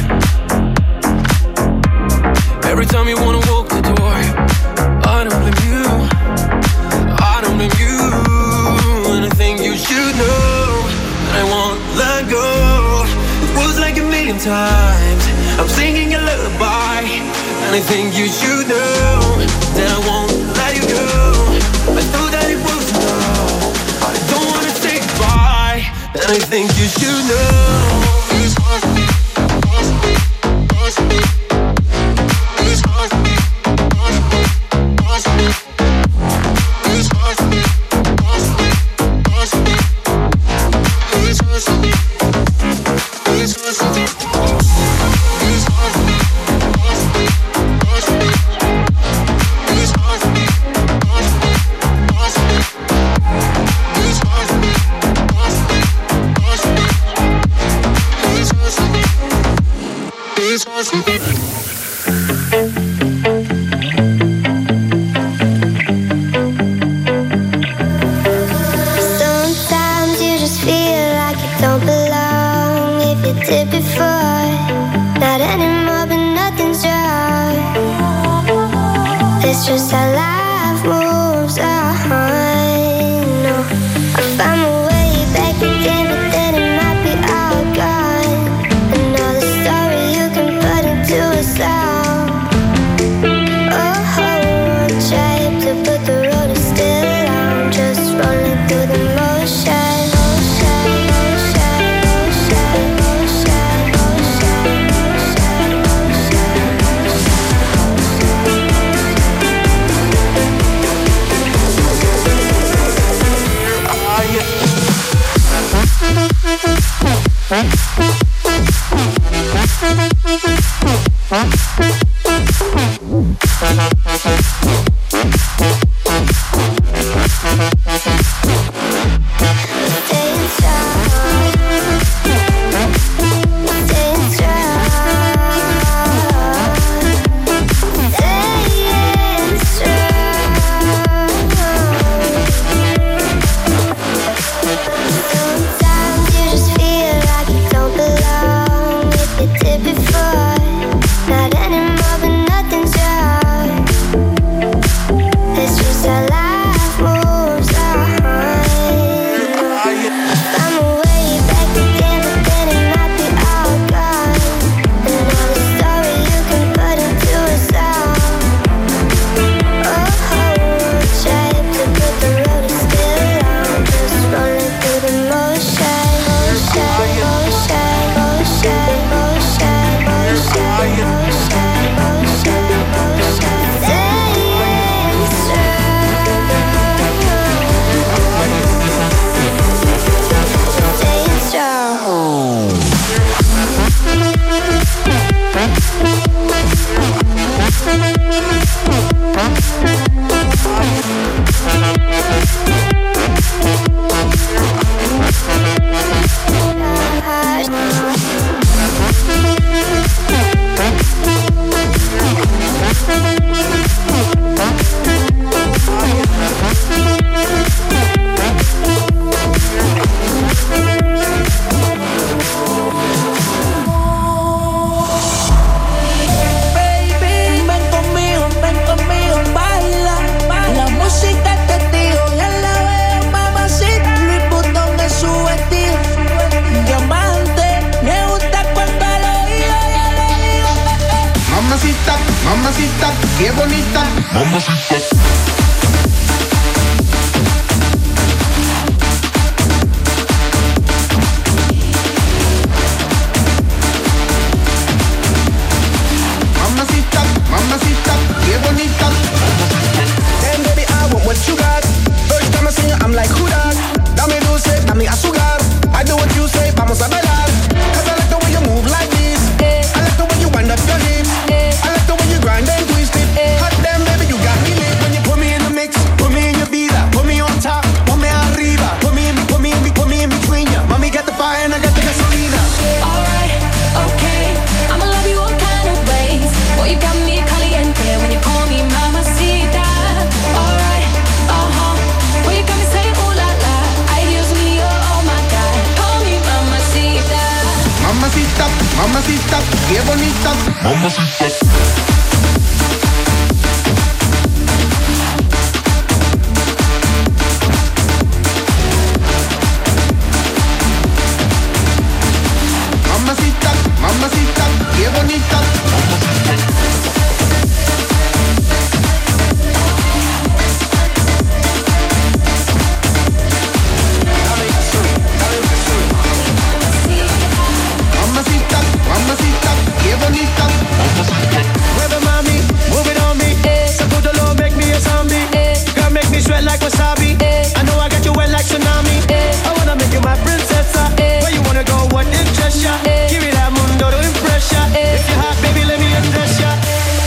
Every time you wanna walk the door, I don't blame you, I don't blame you. And I think you should know that I won't let go. It was like a million times, I'm singing a lullaby, and I think you should know that I won't let you go. I thought that it was enough, I don't wanna say goodbye, and I think you should know. Sometimes you just feel like you don't belong. If you did before, not anymore, but nothing's wrong. It's just how life moves on. No, I found my way back again, but then it might be all gone. Another story you can put into a song. Oh, one shape to put the road is still on, just rolling through the motion. Sometimes you just feel like you don't belong. If you did before, not qué bonita. Mamacita. Mamacita, mamacita, qué bonita. Damn baby, I want what you got. First time I see you, I'm like, who that? Dame dulce, dame azúcar. I do what you say, vamos a bailar. Cause I like the way you move like this. I like the way you wind up your hips. I like the way you grind and twist it. Hot damn baby, you got me lit. When you put me in the mix, put me in your vida. Put me on top, put me arriba. Put me in between ya. Mommy got the fire and I got the gasolina. Alright, okay, I'ma love you all kind of ways. Boy, you got me caliente when you call me mamacita. Alright, boy, you got me saying ooh la la. Ay, Dios mío, oh my God, call me mamacita. Mamacita, mamacita, qué bonita. Mamacita. Mamacita, mamacita, qué bonita. Mamacita, mamacita, qué bonita. Mueve mami, move it on me. Sacudolo, make me a zombie. Girl, make me sweat like wasabi. I know I got you wet like tsunami. I wanna make you my princessa. Where you wanna go, what interest ya? Give me that mundo to impress ya. If you're hot, baby, let me undress ya.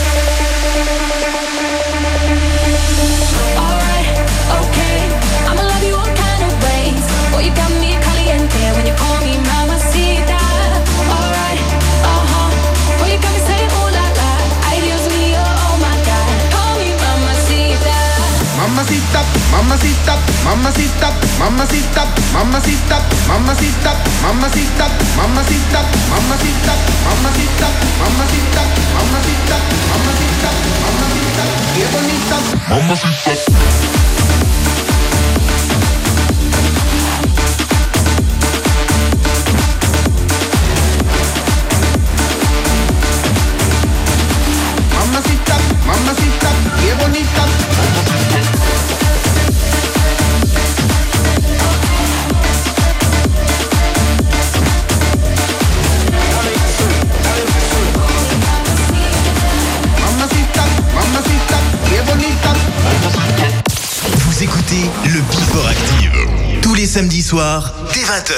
Alright, okay, I'ma love you all kind of ways. Boy, you got me caliente when you call me mamacita. Alright, boy, you got me saying ooh la la. Ay, Dios mío, oh my God, call me mamacita. Mamacita, mamacita, mamacita, mamacita, mamacita, mamacita, mamacita, mamacita, mamacita, mamacita, mamacita, mamacita, mamacita, mamacita, qué bonita. Mamacita. Mamacita, mamacita, qué bonita. Mamacita, mamacita, qué bonita. Vous écoutez le Before Active tous les samedis soirs dès 20h.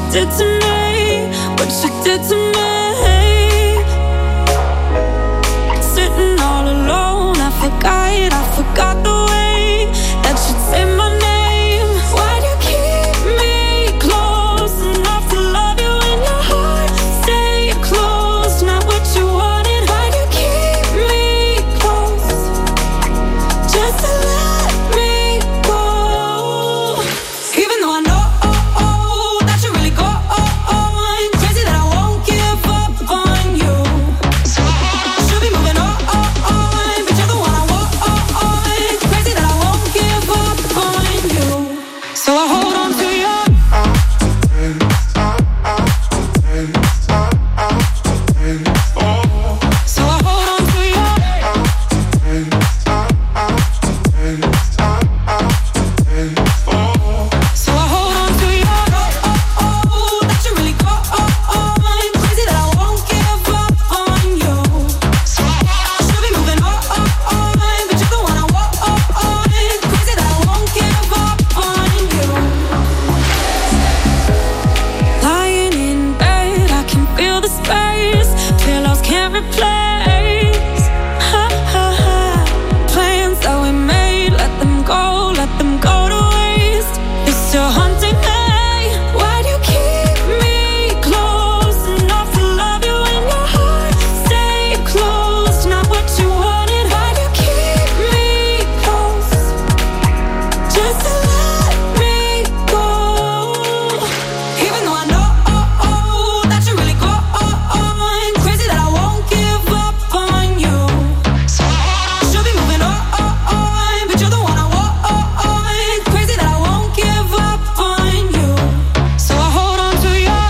did to me, what you did to me. Sitting all alone, I forgot the way that you'd say my name. Why'd you keep me close enough to love you in your heart? Stay close, not what you wanted. Why'd you keep me close, just to let me go? Even though I know that you really go on, crazy that I won't give up on you. Should be moving on, but you're the one I want. Crazy that I won't give up on you. So I hold on to you. So I hold on to you. So I hold on to you. That you really go on. Crazy that I won't give up on you. Should be moving on, but you're the one I want. Crazy that I won't give up on you. Lying in bed, I can feel the space. Pillows can't replace. Plans that we made, let them go to waste. You're still haunting me. Why'd you keep me close enough to love you in your heart? Stay close, not what you wanted. Why'd you keep me close, just to let me go? Even though I know that you really go on, crazy that I won't give up on you. Should be moving on, but you're the one I want. Crazy that I won't give up on you. So I hold on to you.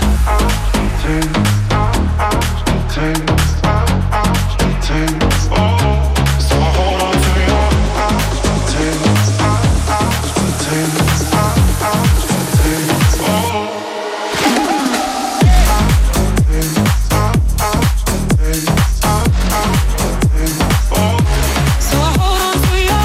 So I hold on to you.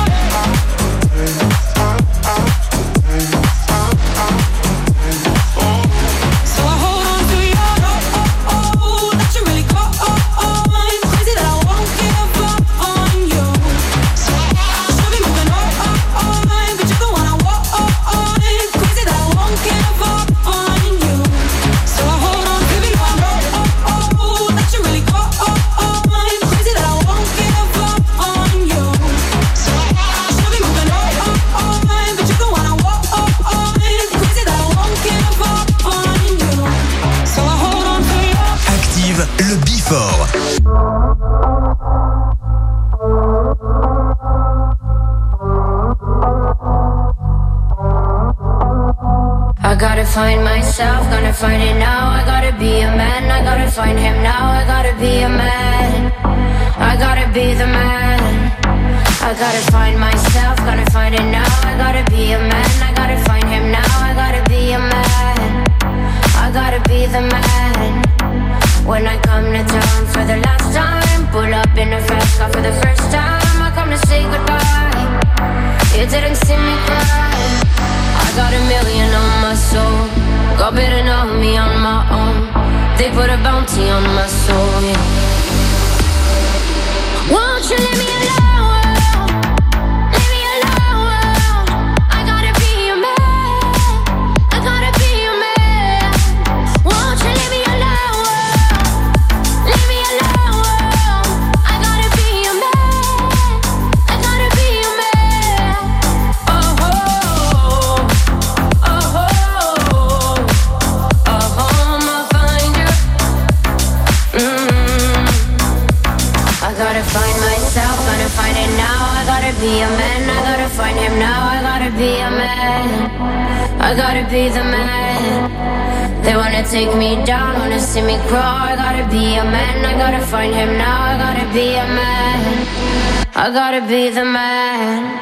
So I hold on to you. That you really go on. Crazy that I won't give up on you. Should be moving on, but you're the one I want. Crazy that I won't give up on you. So I hold on to you. That you really go on. Crazy that I won't give up on you. Should be moving on, but you're the one I want. Crazy that I won't give up on you. So I hold on to you. Active le Before. I gotta find myself, gonna find it now. I gotta be a man, I gotta find him now. I gotta be a man, I gotta be the man. I gotta find myself, gonna find it now. I gotta be a man, I gotta find him now. I gotta be a man, I gotta be the man. When I come to town for the last time, pull up in a fast car for the first time, I come to say goodbye. You didn't see me cry. I got a million on my soul. God better know me on my own. They put a bounty on my soul, yeah. Won't you leave me alone? Leave me alone. I gotta be a man, I gotta be a man. Won't you leave me alone? Leave me alone. I gotta be a man, I gotta be a man. Oh, oh, oh, oh, oh, I'ma find you. I gotta find myself, gotta find it now. I gotta be a man, I gotta find him now. I gotta be a man, I gotta be the man. They wanna take me down, wanna see me crawl. I gotta be a man, I gotta find him now. I gotta be a man, I gotta be the man.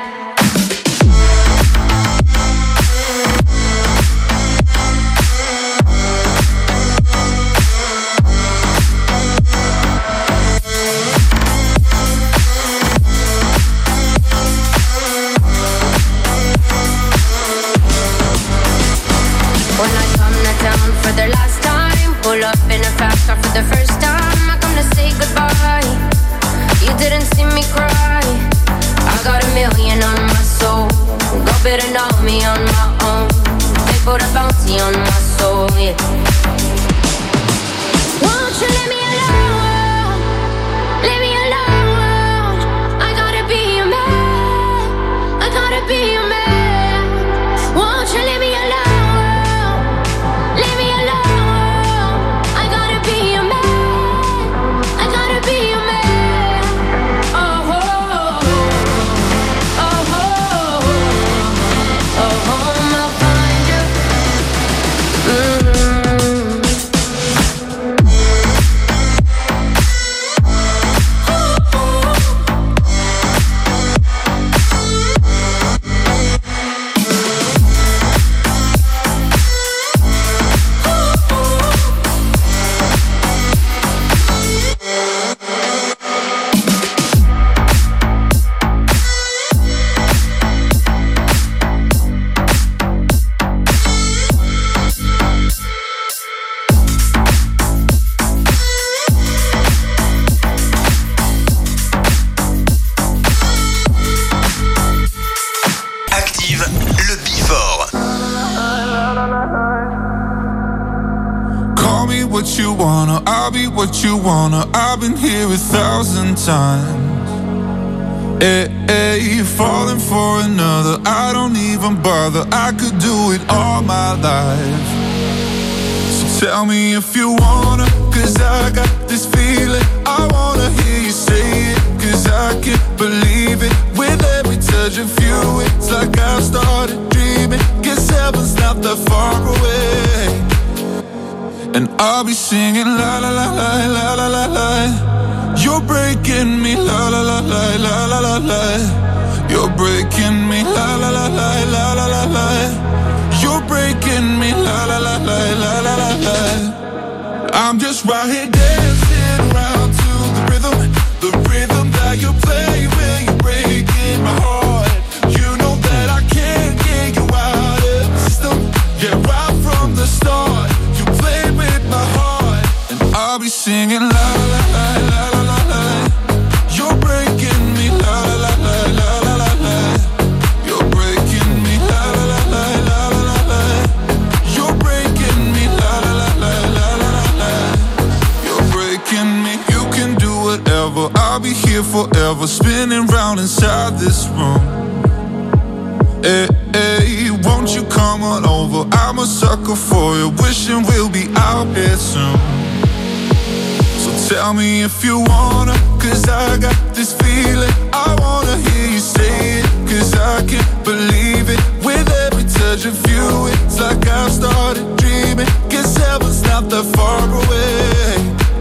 for the last time. Pull up in a fast car for the first time. I come to say goodbye. You didn't see me cry. I got $1 million on my soul. Go better know me on my own. They put a bounty on my soul, yeah. Won't you let me alone? Let me alone. I gotta be a man. I gotta be a man. Won't you let me alone? Let me alone. I gotta be a man. I gotta be a man. Oh, oh, oh, oh, oh, oh, I'll find you. What you wanna, I've been here 1,000 times. Hey, falling for another, I don't even bother. I could do it all my life. So tell me if you wanna, cause I got this feeling. I wanna hear you say it, cause I can't believe it. With every touch of you, it's like I've started dreaming. Guess heaven's not that far away. And I'll be singing la la la la la la la la. You're breaking me la la la la la la la la. You're breaking me la la la la la la la la. You're breaking me la la la la la la la la. I'm just right here dancing around to the rhythm that you play when you're breaking my heart. You know that I can't get you out of the system. Yeah, right from the start. My heart, and I'll be singing la la la la la la la. You're breaking me la la la la la la la la. You're breaking me la la la la la la la la. You're breaking me la la la la la la la la. You're breaking me. You can do whatever. I'll be here forever, spinning round inside this room. Hey, hey, won't you come on over? I'm a sucker for you, wishing we'll be out here soon. So tell me if you wanna, cause I got this feeling. I wanna hear you say it, cause I can't believe it. With every touch of you, it's like I've started dreaming. Guess heaven's not that far away.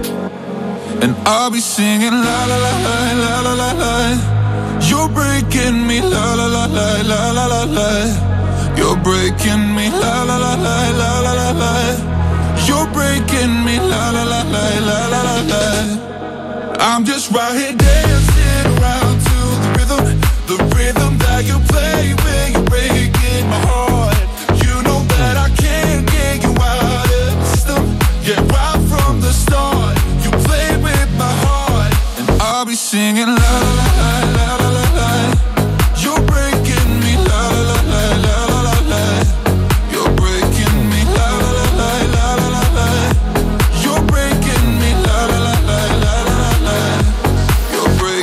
And I'll be singing la la la la la la la la. You're breaking me la la la la la la la la. You're breaking me la la la la la la la la. You're breaking me la la la la la la la la. I'm just right here dancing around to the rhythm that you play when you're breaking my heart. You know that I can't get you out of the system. Yeah, right from the start, you play with my heart, and I'll be singing la la la la la la la. You're breaking me la la la la la la la la. You're breaking me la la la la la la la la. You're breaking me la la la la la la la la. You're breaking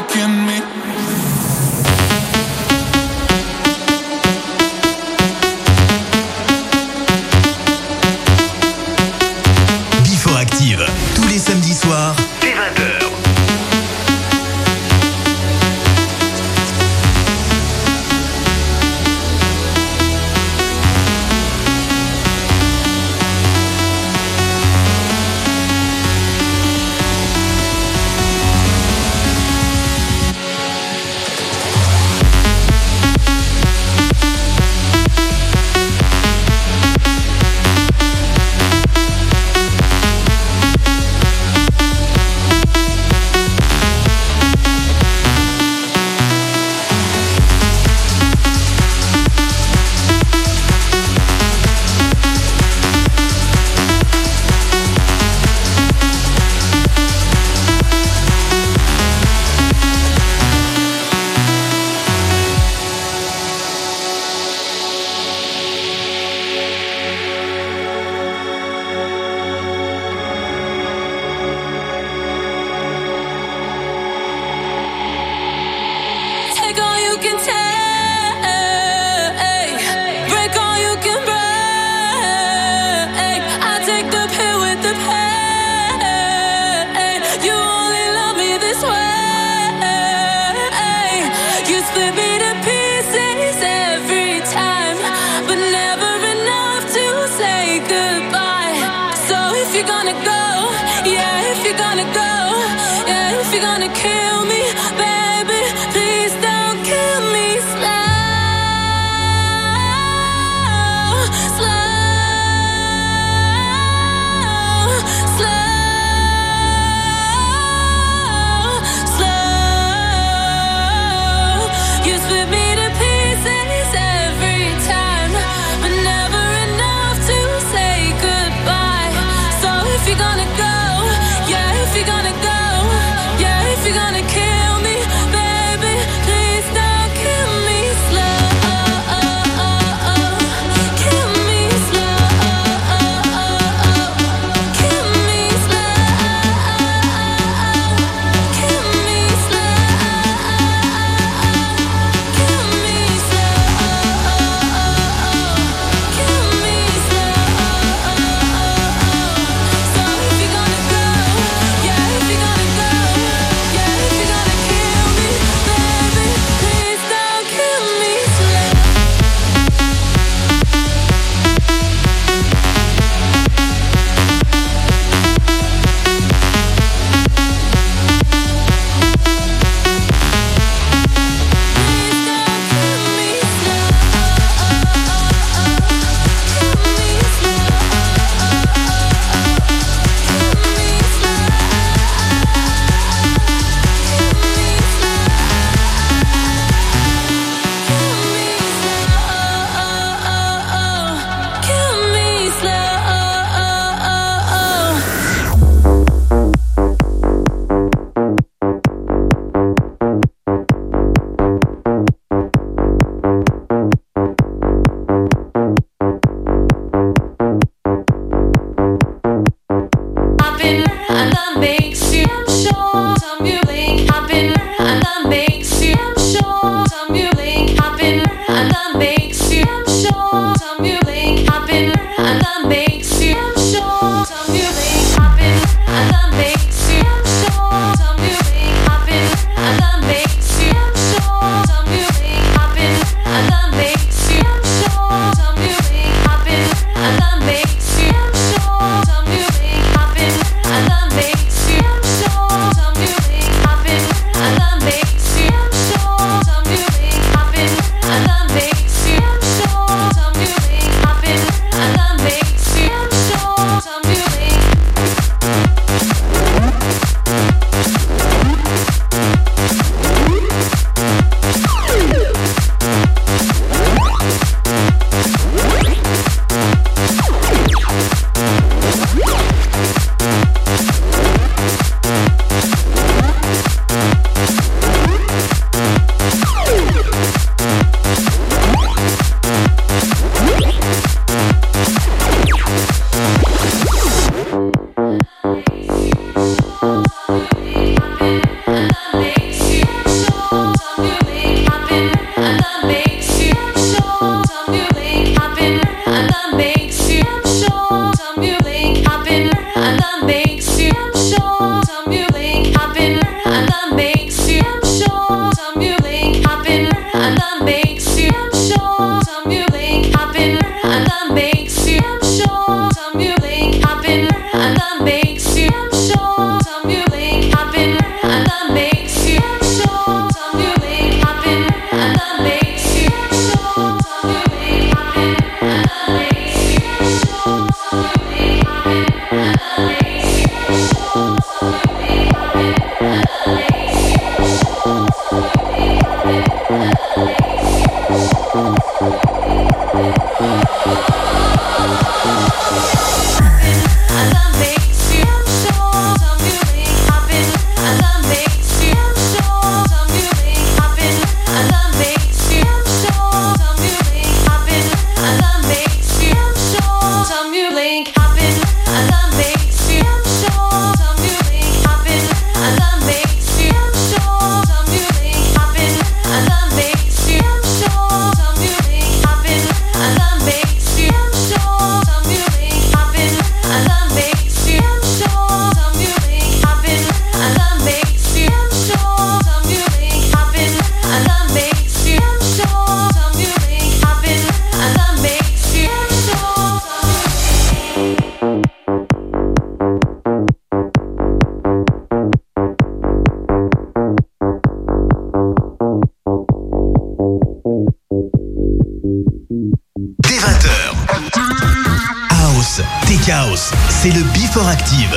C'est le Before Active.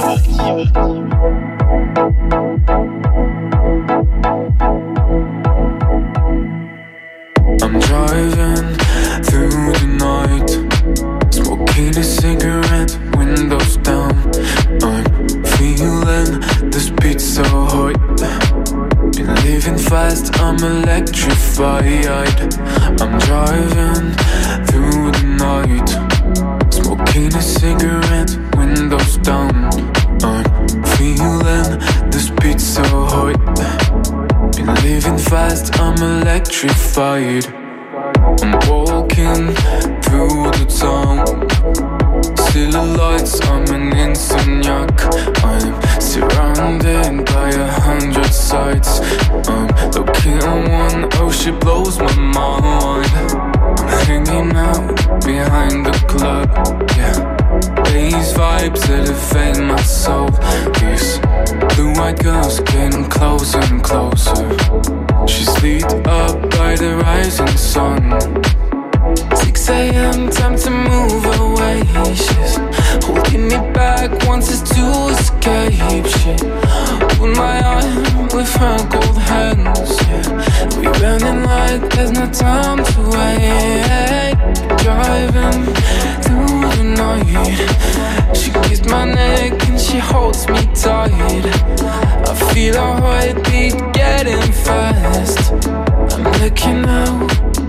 I'm driving through the night, smoking a cigarette, windows down. I'm feeling this beat so hot. Been living fast, I'm electrified. I'm driving through the night, smoking a cigarette, windows down. I'm feeling this beat so hot. Been living fast, I'm electrified. I'm walking through the town, silhouettes, I'm an insomniac. I'm surrounded by 100 sights. I'm looking at one, oh she blows my mind. I'm hanging out behind the club, yeah. These vibes elevate my soul. These blue-eyed girls getting closer and closer. She's lit up by the rising sun. 6 a.m, time to move away. She's holding me back, wants us to escape. She put my arm with her cold hands, yeah. We running like there's no time to wait. Driving through the night, she kissed my neck and she holds me tight. I feel her heartbeat getting fast. I'm looking out.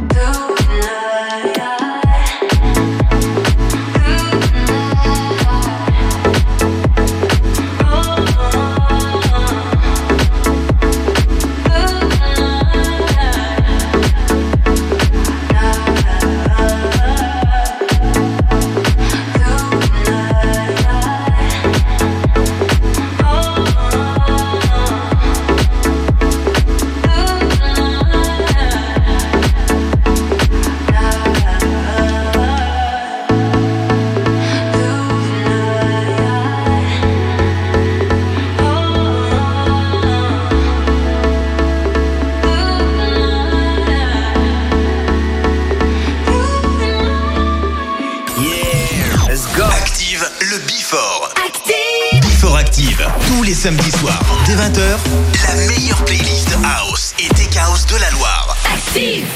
Samedi soir, dès 20h, la meilleure playlist House et Tech House de la Loire. Active!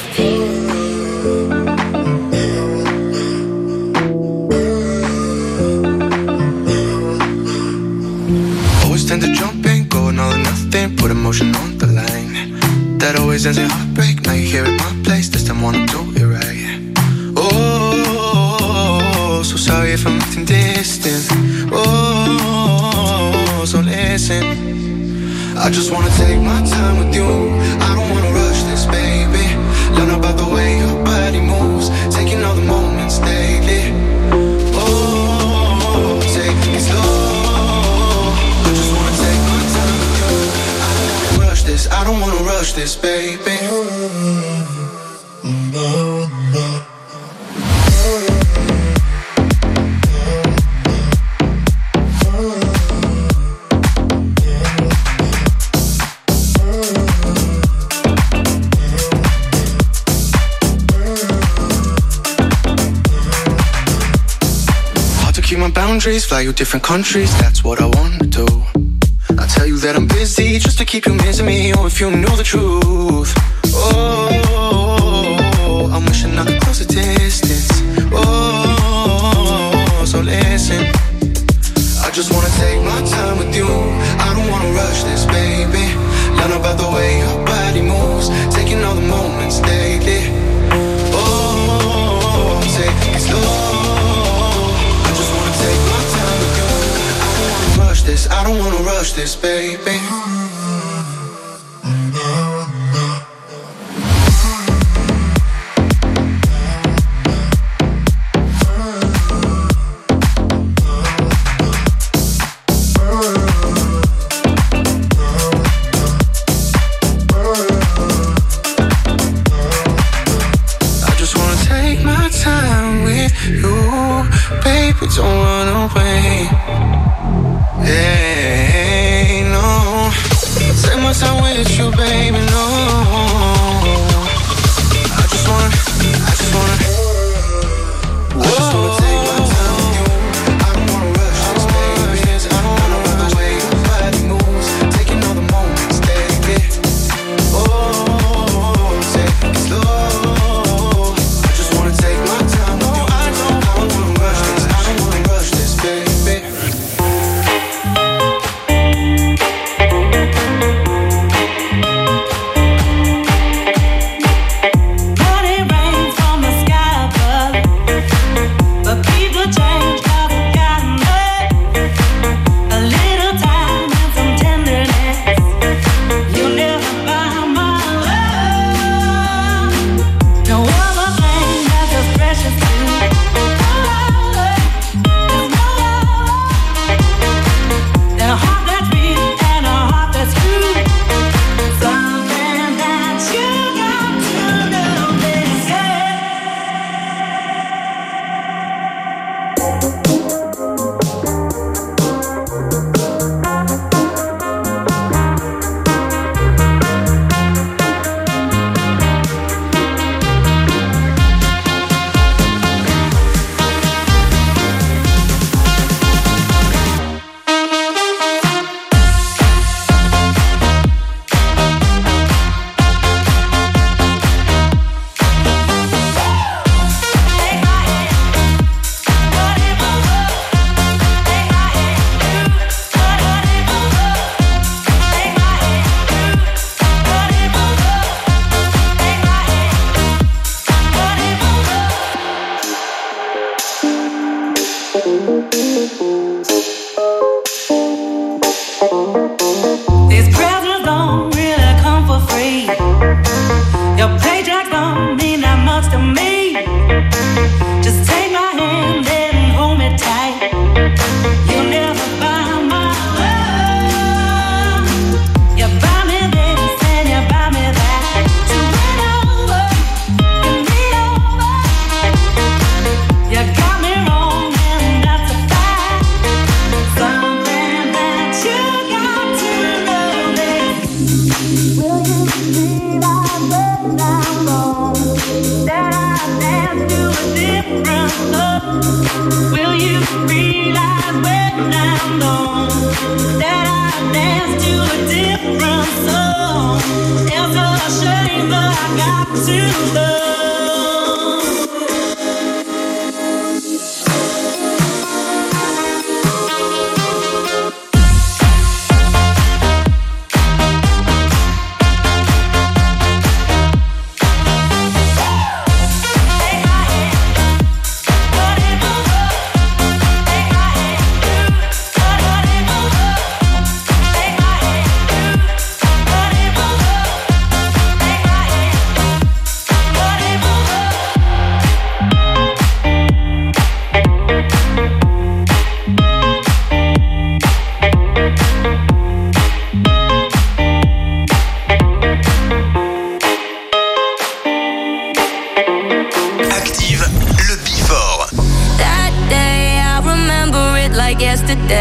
Always tend to jump in, go all or nothing, put emotion on the line. That always ends in heartbreak, now you're here at my place, this time wanna do it right. Oh, so sorry if I'm acting distant. Oh, so listen, I just wanna take my time with you. I don't wanna rush this, baby. Learn about the way your body moves, taking all the moments daily. Oh, take it slow. I just wanna take my time with you. I don't wanna rush this, baby. baby. Boundaries, fly you different countries, that's what I wanna do. I tell you that I'm busy just to keep you missing me. Oh, if you knew the truth. Oh, I'm wishing I could close the distance. Oh, so listen, I just wanna take my time with you. I don't wanna rush this, baby. Learn about the way your body moves, taking all the moments daily. Oh, take it slow. I don't wanna rush this, baby. I just wanna take my time with you, baby, don't run away. Hey, no, take my time with you, baby, no. I just wanna take my time with you. I don't wanna rush this, baby. I don't wanna run away. Your body moves, taking all the moments, baby. Oh, take it slow. I just wanna take my time with you. I don't wanna rush this. I don't wanna rush this, baby.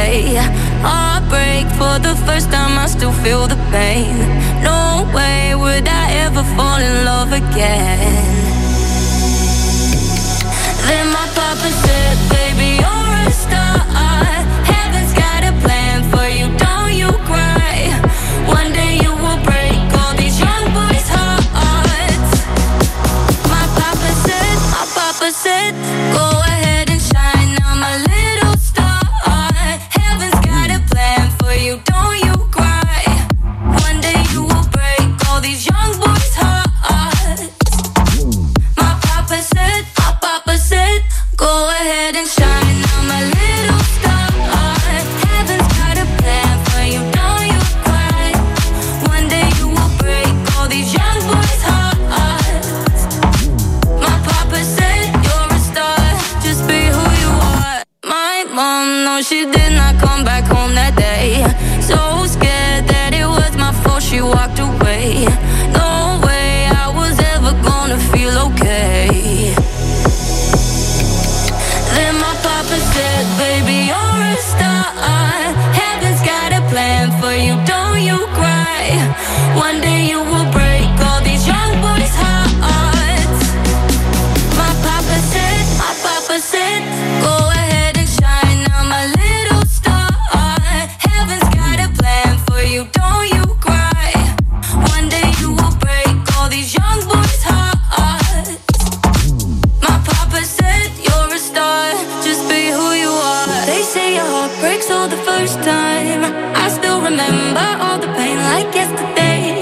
day. Heartbreak for the first time, I still feel the pain. No way would I ever fall in love again. Then my papa said, baby, you're a star. Heaven's got a plan for you, don't you cry. One day you will break all these young boys' hearts. My papa said, go ahead and shine, now my little star. Heaven's got a plan for you, don't you cry. One day you will break all these young boys' hearts. My papa said, go ahead and shine, now my little star. Heaven's got a plan for you, don't you cry. One day you will break all these young boys' hearts. My papa said, you're a star, just be who you are. My mom, no, she did not come back home that day. So scared that it was my fault, she walked away. No way I was ever gonna feel okay. Then my papa said, baby, you're a star. Heaven's got a plan for you, don't you cry. One day you will break all these young boys' hearts. My papa said, go ahead and shine, now my little star. Heaven's got a plan for you, don't you cry. One day you will break all these young boys' hearts. My papa said, you're a star, just be who you are. They say your heart breaks all the first time. I still remember all the pain like yesterday.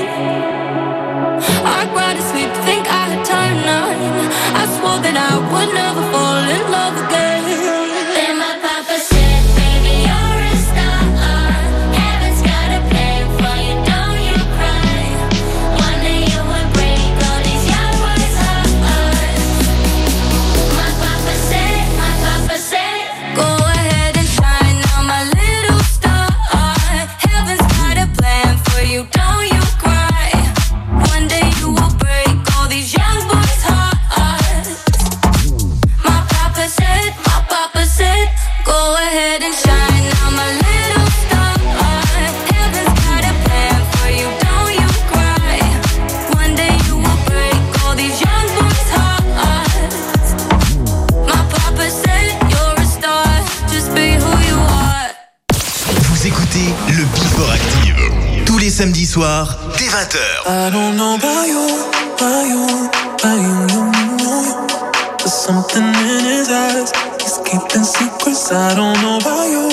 I cried to sleep, think I had turned 9. I swore that I would never fall in love again. Then my papa said, baby, you're a star. Heaven's got a plan for you, don't you cry. One day you will break all these young boys' hearts. My papa said, go ahead and shine, now my little star. Heaven's got a plan for you, don't you cry. One day you will break all these young boys' hearts. My papa said, go ahead and shine, now my little star. Heaven's got a plan for you, don't you cry. One day you will break all these young boys' hearts. My papa said, you're a star, just be who you are. Vous écoutez le Before Active tous les samedis soirs dès 20h. I don't know about you. There's something in his eyes. He's keeping secrets. I don't know about you.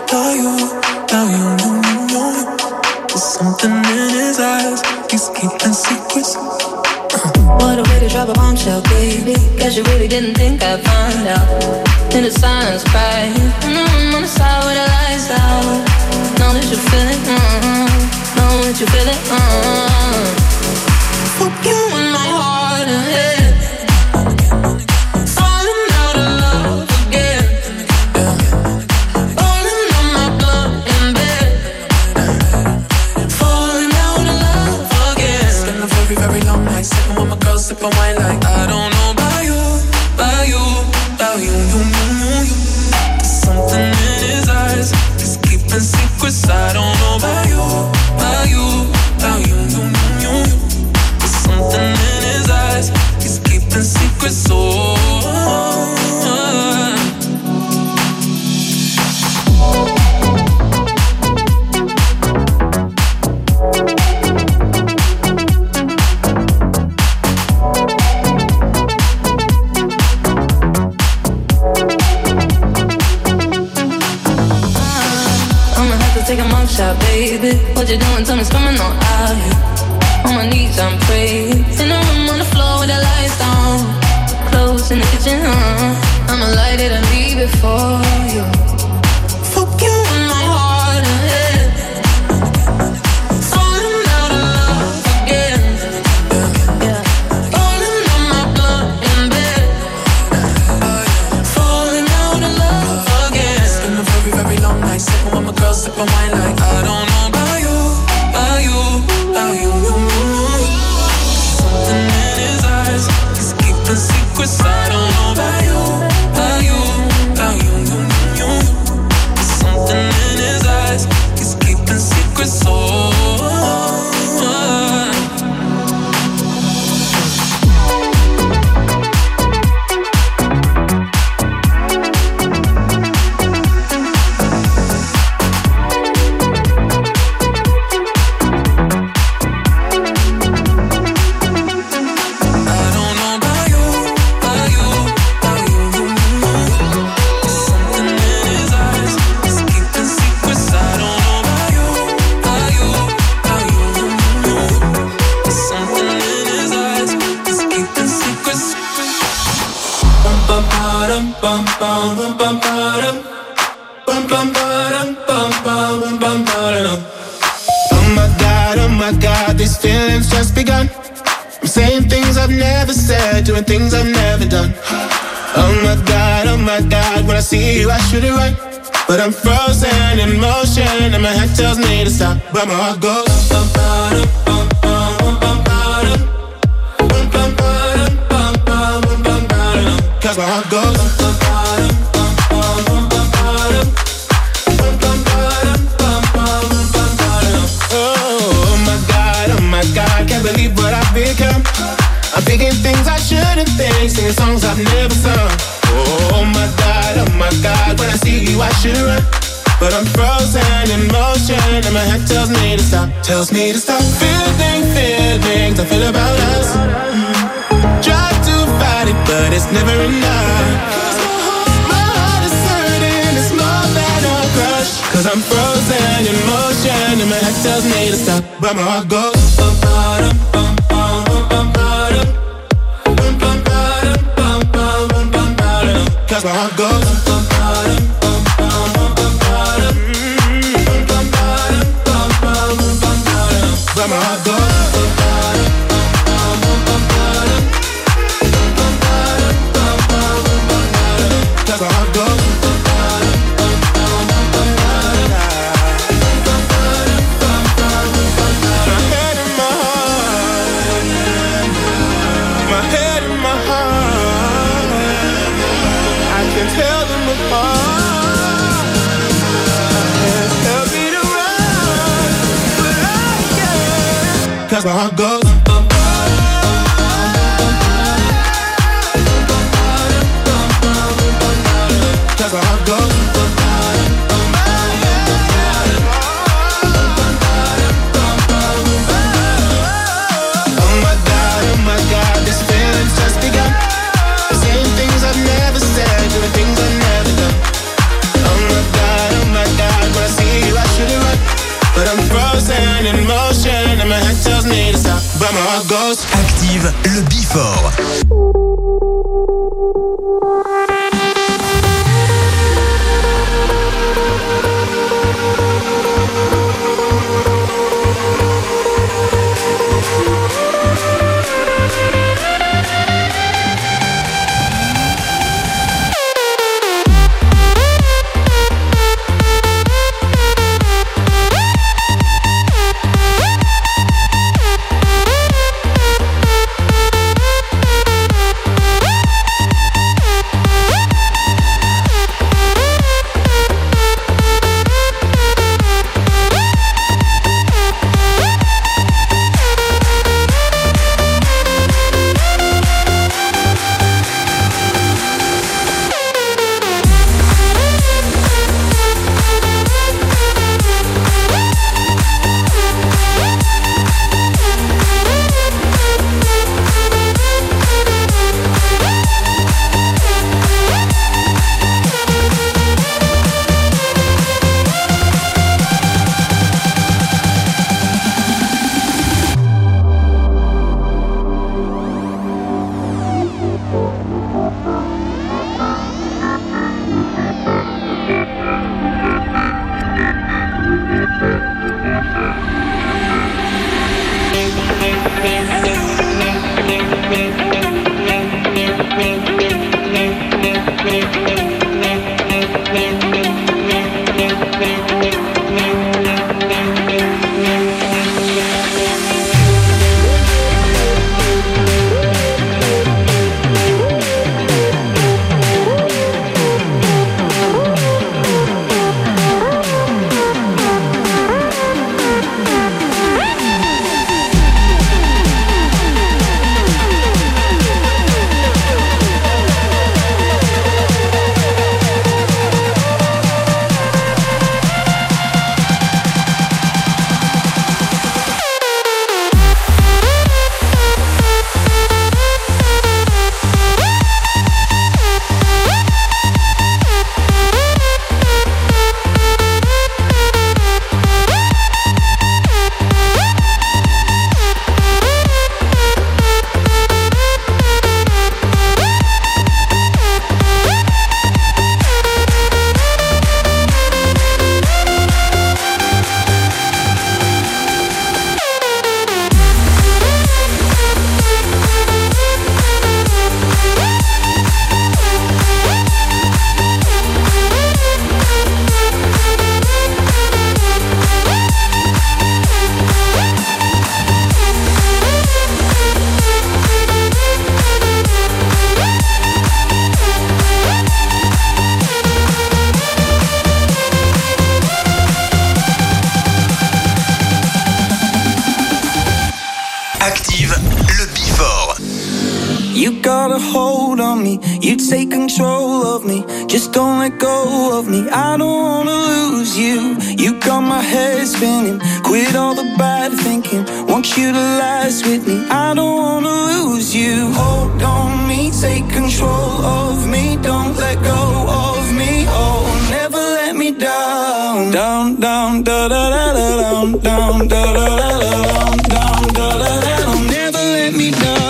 There's something in his eyes. He's keeping secrets. What a way to drop a bombshell, baby. Guess you really didn't think I'd find out. In the silence, cry. On the side where the lights out. Know that you feel it, know that you feel it, Fuck you in my heart and head. Falling out of love again. Rolling on my blood in bed. Falling out of love again. Spend a very, very long night sipping with my girl, sipping wine like I don't know about you. There's something in his eyes. He's keeping secrets. I don't know about you. There's something in his eyes. He's keeping secrets. Take a mugshot, baby. What you doing? Tell me, coming on out here. On my knees, I'm praying. In the room on the floor with the lights down. Clothes in the kitchen, I'ma light it and leave it for you. Fuck you in my heart and head. Falling out of love again. Falling on my blood in bed. Falling out of love again. It's been a very, very long night sipping with my girl, sipping wine like I don't know about you. Something in his eyes, he's keeping secrets. I don't know about you. Something in Oh my God, these feelings just begun. I'm saying things I've never said, doing things I've never done. Oh my God, when I see you I should it right, but I'm frozen in motion and my head tells me to stop, but my heart goes. Cause my heart goes. Oh my God, can't believe what I've become. I'm thinking things I shouldn't think, singing songs I've never sung. Oh my God, when I see you I should run, but I'm frozen in motion and my head tells me to stop, feeling feelings I feel about us. Try to fight it, but it's never enough. My heart is hurting, it's more than a crush. Cause I'm frozen in motion and my head tells me to stop, but my heart goes. Cause my heart goes. But my heart goes. Cause my heart goes. My head and my heart. My head and my heart. I can tell them apart. Hands tell me to run, but I can't. Cause my heart goes. Cause my heart goes. Oh my God, this feeling's just begun. Saying things I've never said, doing things I've never done. Oh my God, when I see you I should it right, but I'm frozen in motion and my head tells me to stop, but my heart goes. Active le Before. You got a hold on me, you take control of me. Just don't let go of me, I don't wanna lose you. You got my head spinning, quit all the bad thinking. Want you to last with me, I don't wanna lose you. Hold on me, take control of me. Don't let go of me, oh, never let me down. Down, down, da da da da, down, down, da da da da, down, down, da da da da. Never let me down.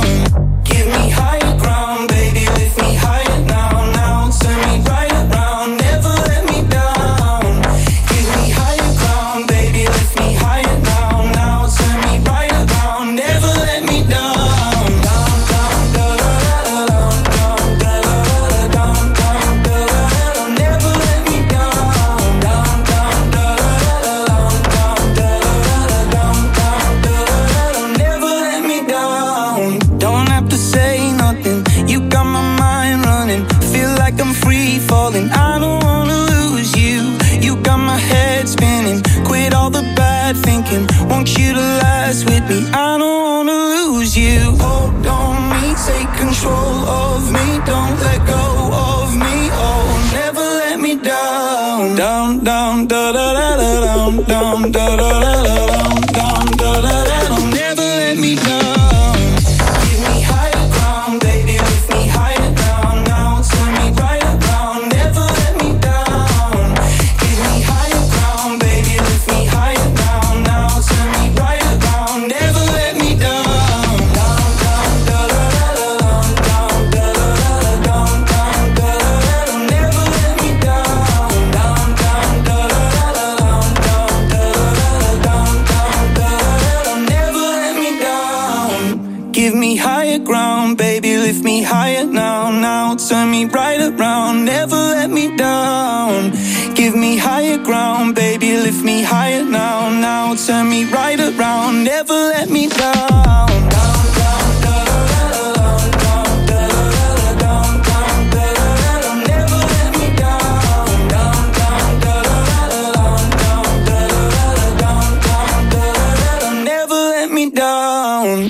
Want you to last with me, I don't wanna lose you. Hold on me, take control of me. Don't let go of me, oh, never let me down. Down, down, da da da da, down, down, da da da da, down, down, da da da da. Never let me down. Give me higher ground, baby, lift me higher down. Now turn me right around, never let me down. Give me higher ground, baby, lift me higher down. Now turn me right around, never let me down. Down, down, da da da da, down, da da da da, down, down, da da da da. Never let me down. Down, down, da da da da, down, da da da da, down, down, da da da. Never let me down. Give me higher ground, baby, lift me higher now. Now turn me right around, never let me down. Give me higher ground, baby, lift me higher now. Now turn me right around, never let me down. Down, down, da da da da, down, da da da da, down, down, da da da da. Never let me down. Down, down, da da da da, down, da da da da, down, down, da da da da. Never let me down.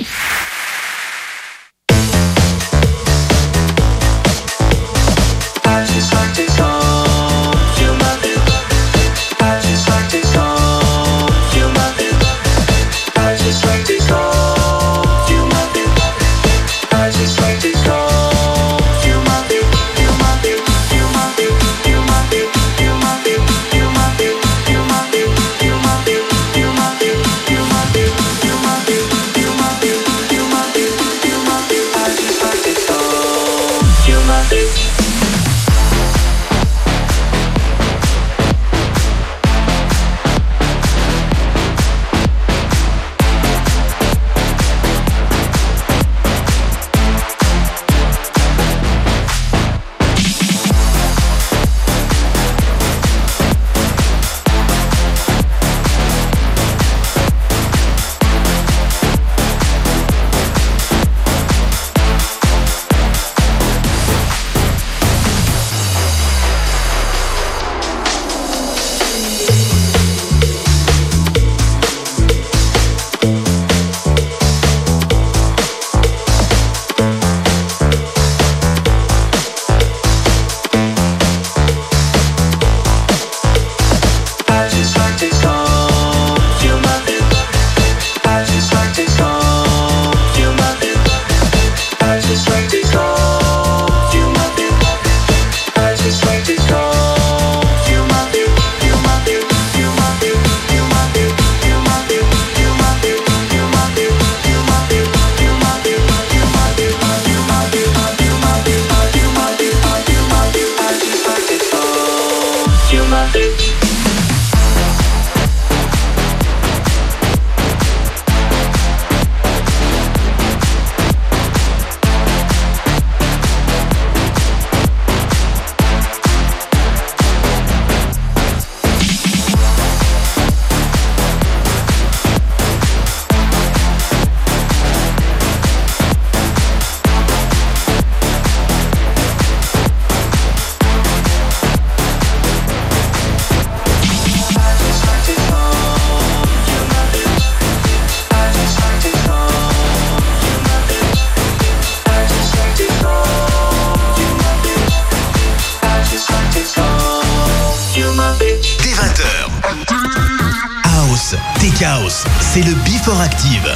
Tech House, c'est le Before Active.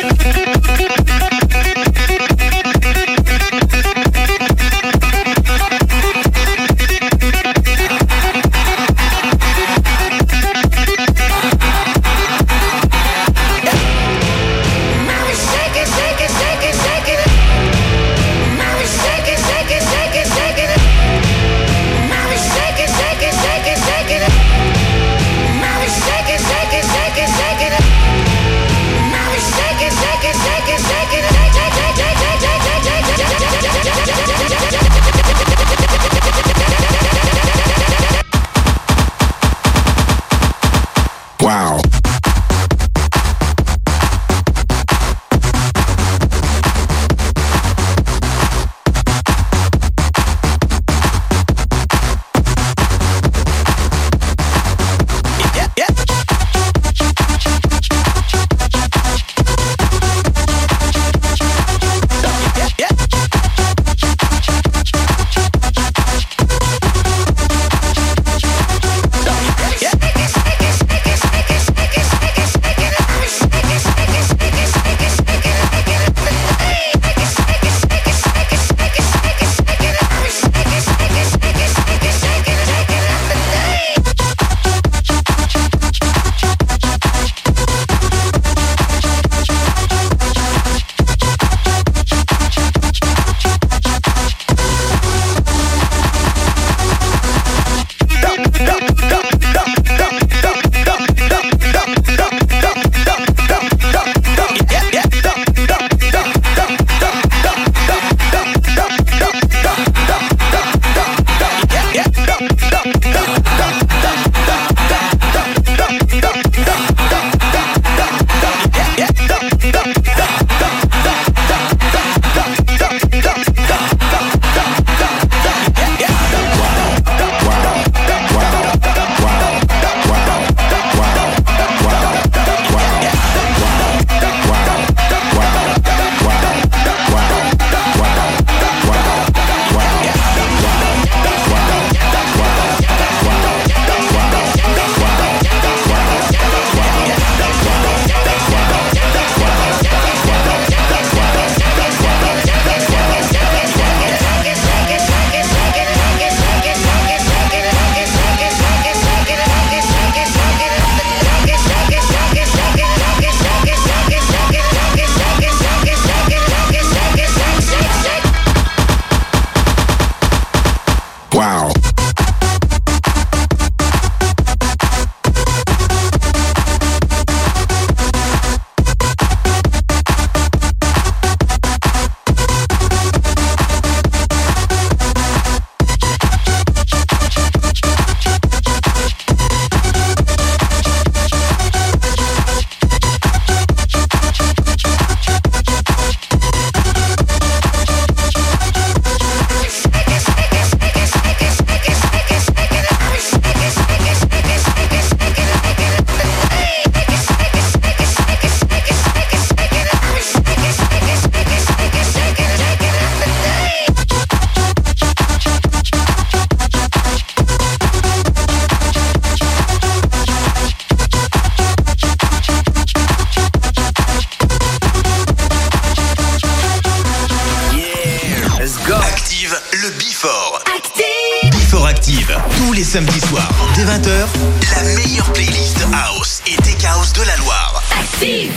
Tous les samedis soirs, dès 20h, la meilleure playlist House et Tech House de la Loire. Active!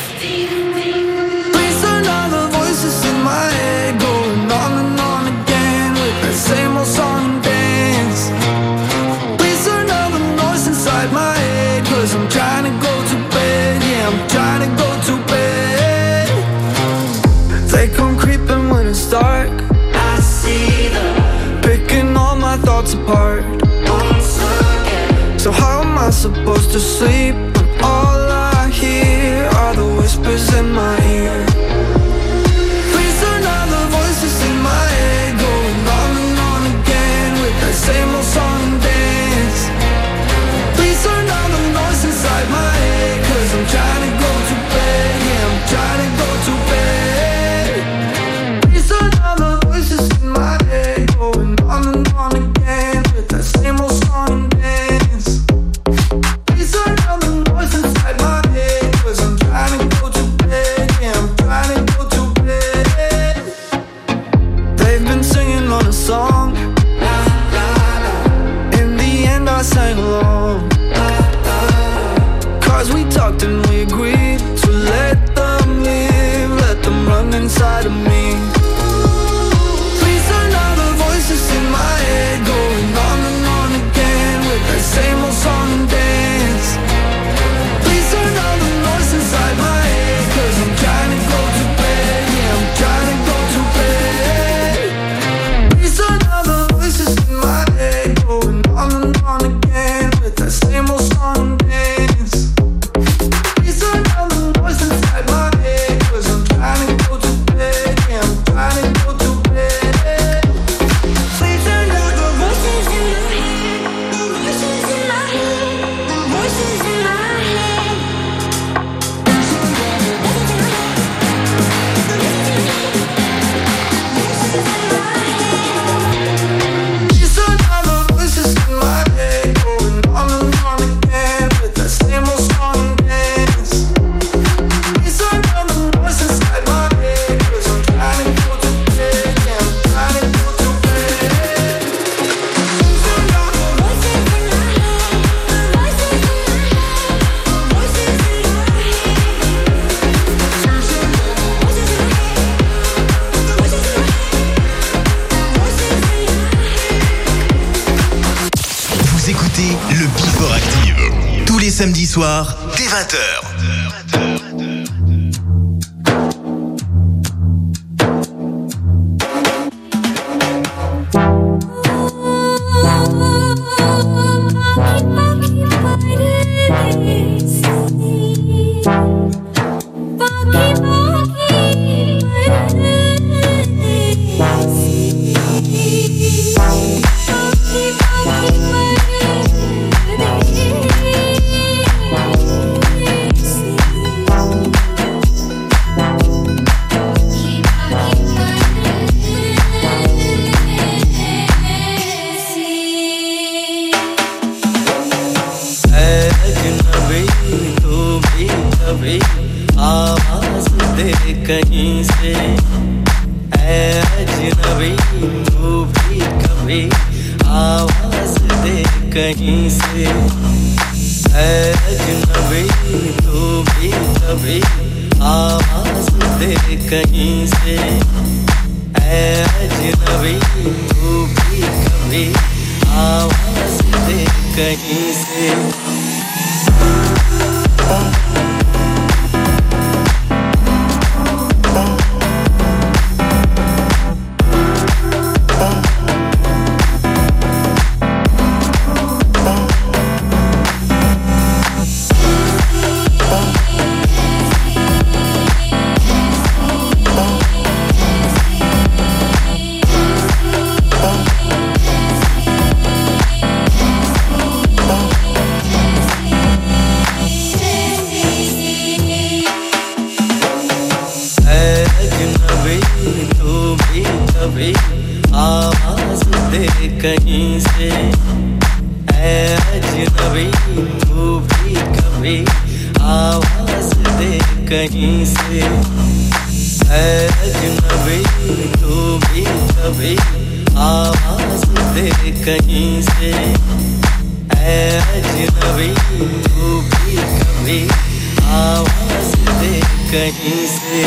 Listen all the voices in my head going on and on again with that same old song and dance. Listen all the noise inside my head 'cause I'm trying to go to bed. Yeah, I'm trying to go to bed. They come creeping when it's dark. I see them picking all my thoughts apart. So how am I supposed to sleep when all I hear are the whispers in my ear? Please turn on the voices in my head going on and on again with that same old song and dance. Please turn on the noise inside my head 'cause I'm trying to go to bed. Yeah, I'm trying to go to bed. Please turn on the voices in my head going on and on again with that same old song and dance. Please turn on the noise inside my head samedis soirs, dès 20h. कहीं से है अजनबी तू भी कभी आवाज दे कहीं से है अजनबी तू भी कभी आवाज दे कहीं से है अजनबी तू भी कभी आवाज दे कहीं से कहीं से है अजनबी तू भी कभी आवाज दे कहीं से है अजनबी तू भी कभी आवाज दे कहीं से है अजनबी तू भी कभी आवाज दे कहीं से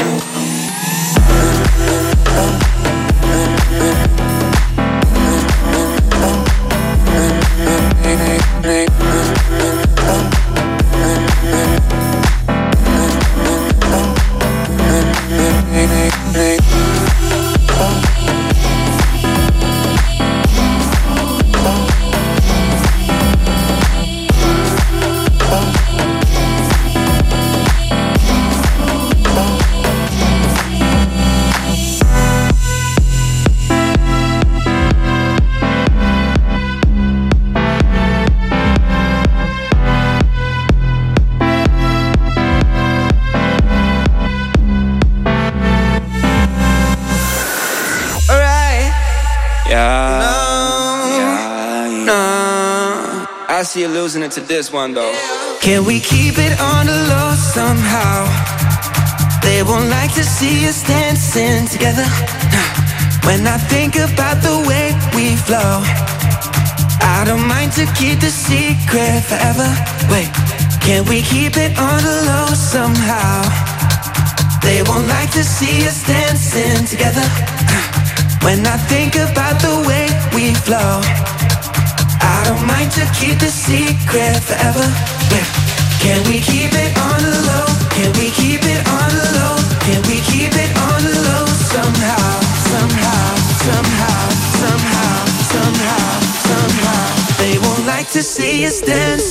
I see you losing it to this one though. Can we keep it on the low somehow? They won't like to see us dancing together. When I think about the way we flow, I don't mind to keep the secret forever. Wait, can we keep it on the low somehow? They won't like to see us dancing together. When I think about the way we flow, I don't mind to keep the secret forever. Yeah. Can we keep it on the low? Can we keep it on the low? Can we keep it on the low somehow? Somehow, somehow, somehow, somehow, somehow. They won't like to see us dance.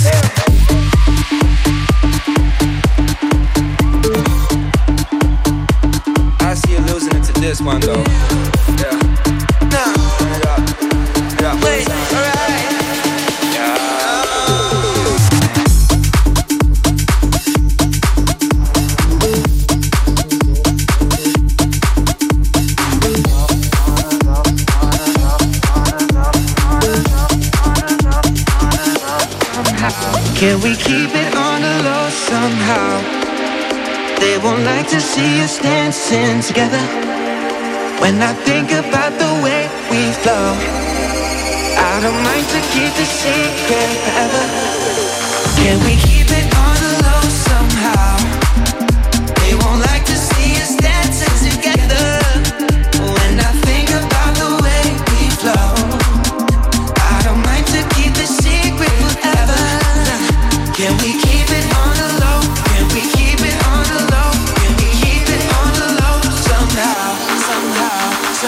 I see you losing it to this one though. Yeah. Yeah. Wait, alright. Can we keep it on the low somehow? They won't like to see us dancing together. When I think about the way we flow, I don't mind to keep the secret forever. Can we keep it on the low somehow? They won't like to see us dancing together. When I think about the way we flow, I don't mind to keep the secret forever. Can we keep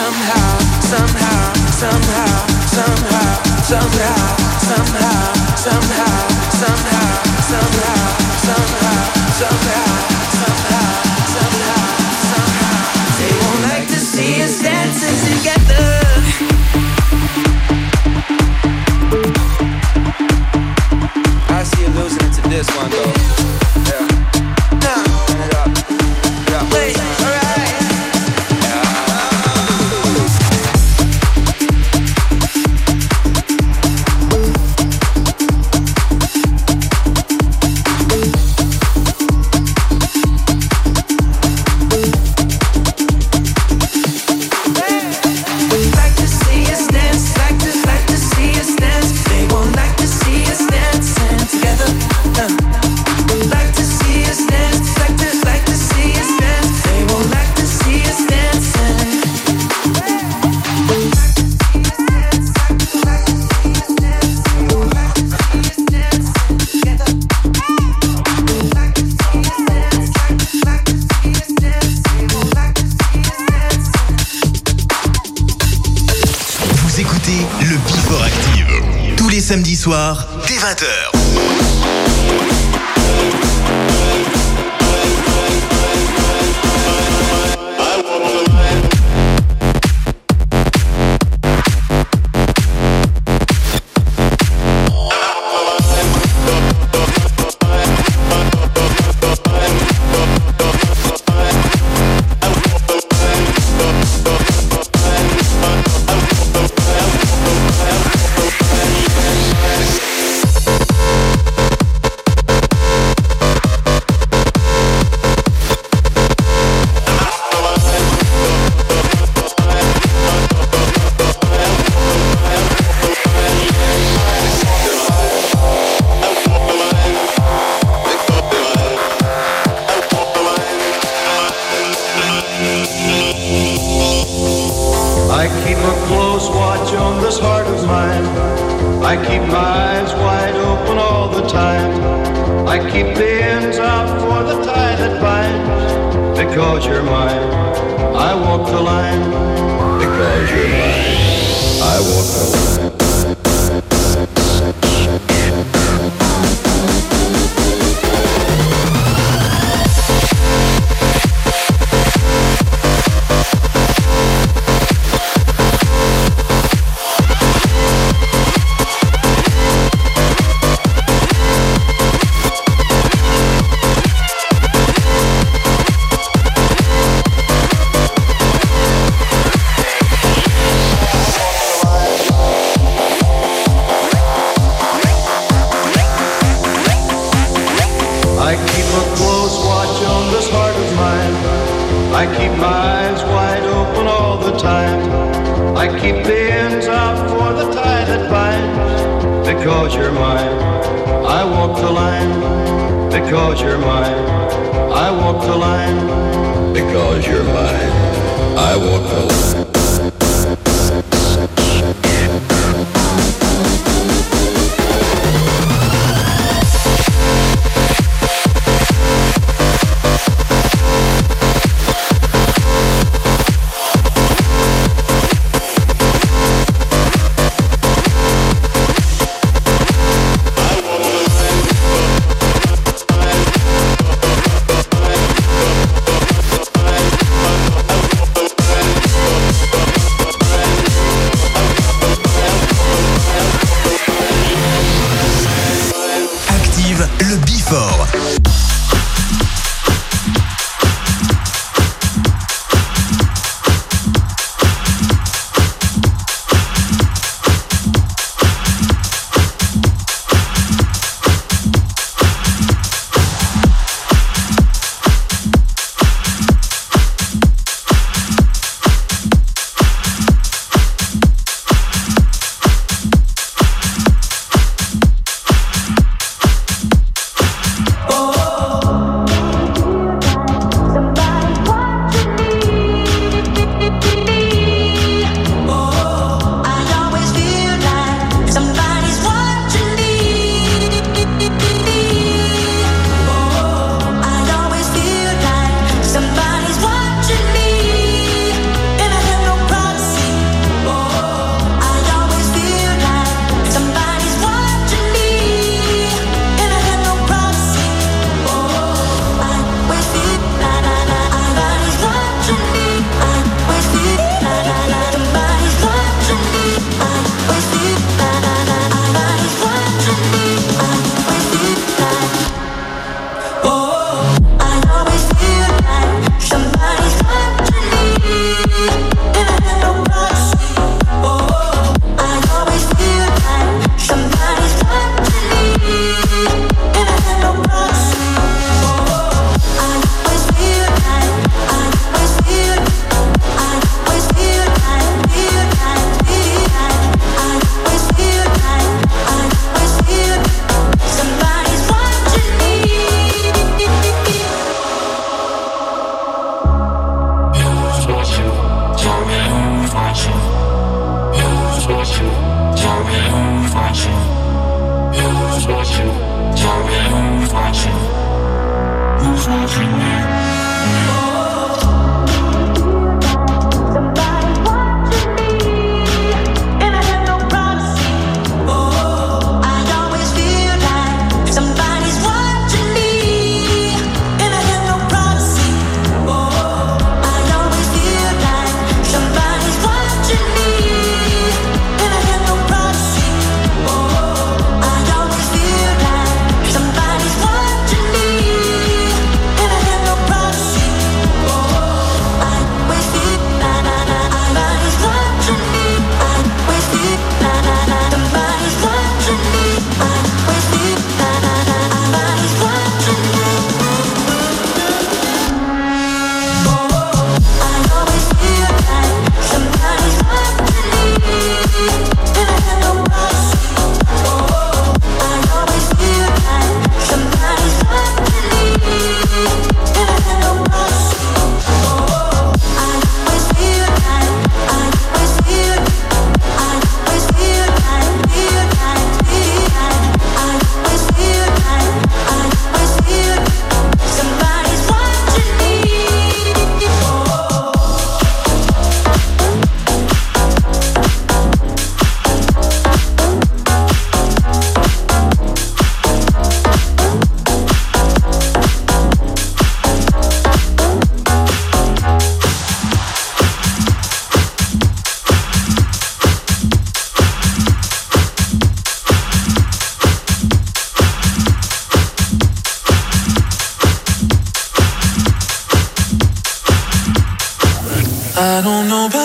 Samedi soir, dès 20h.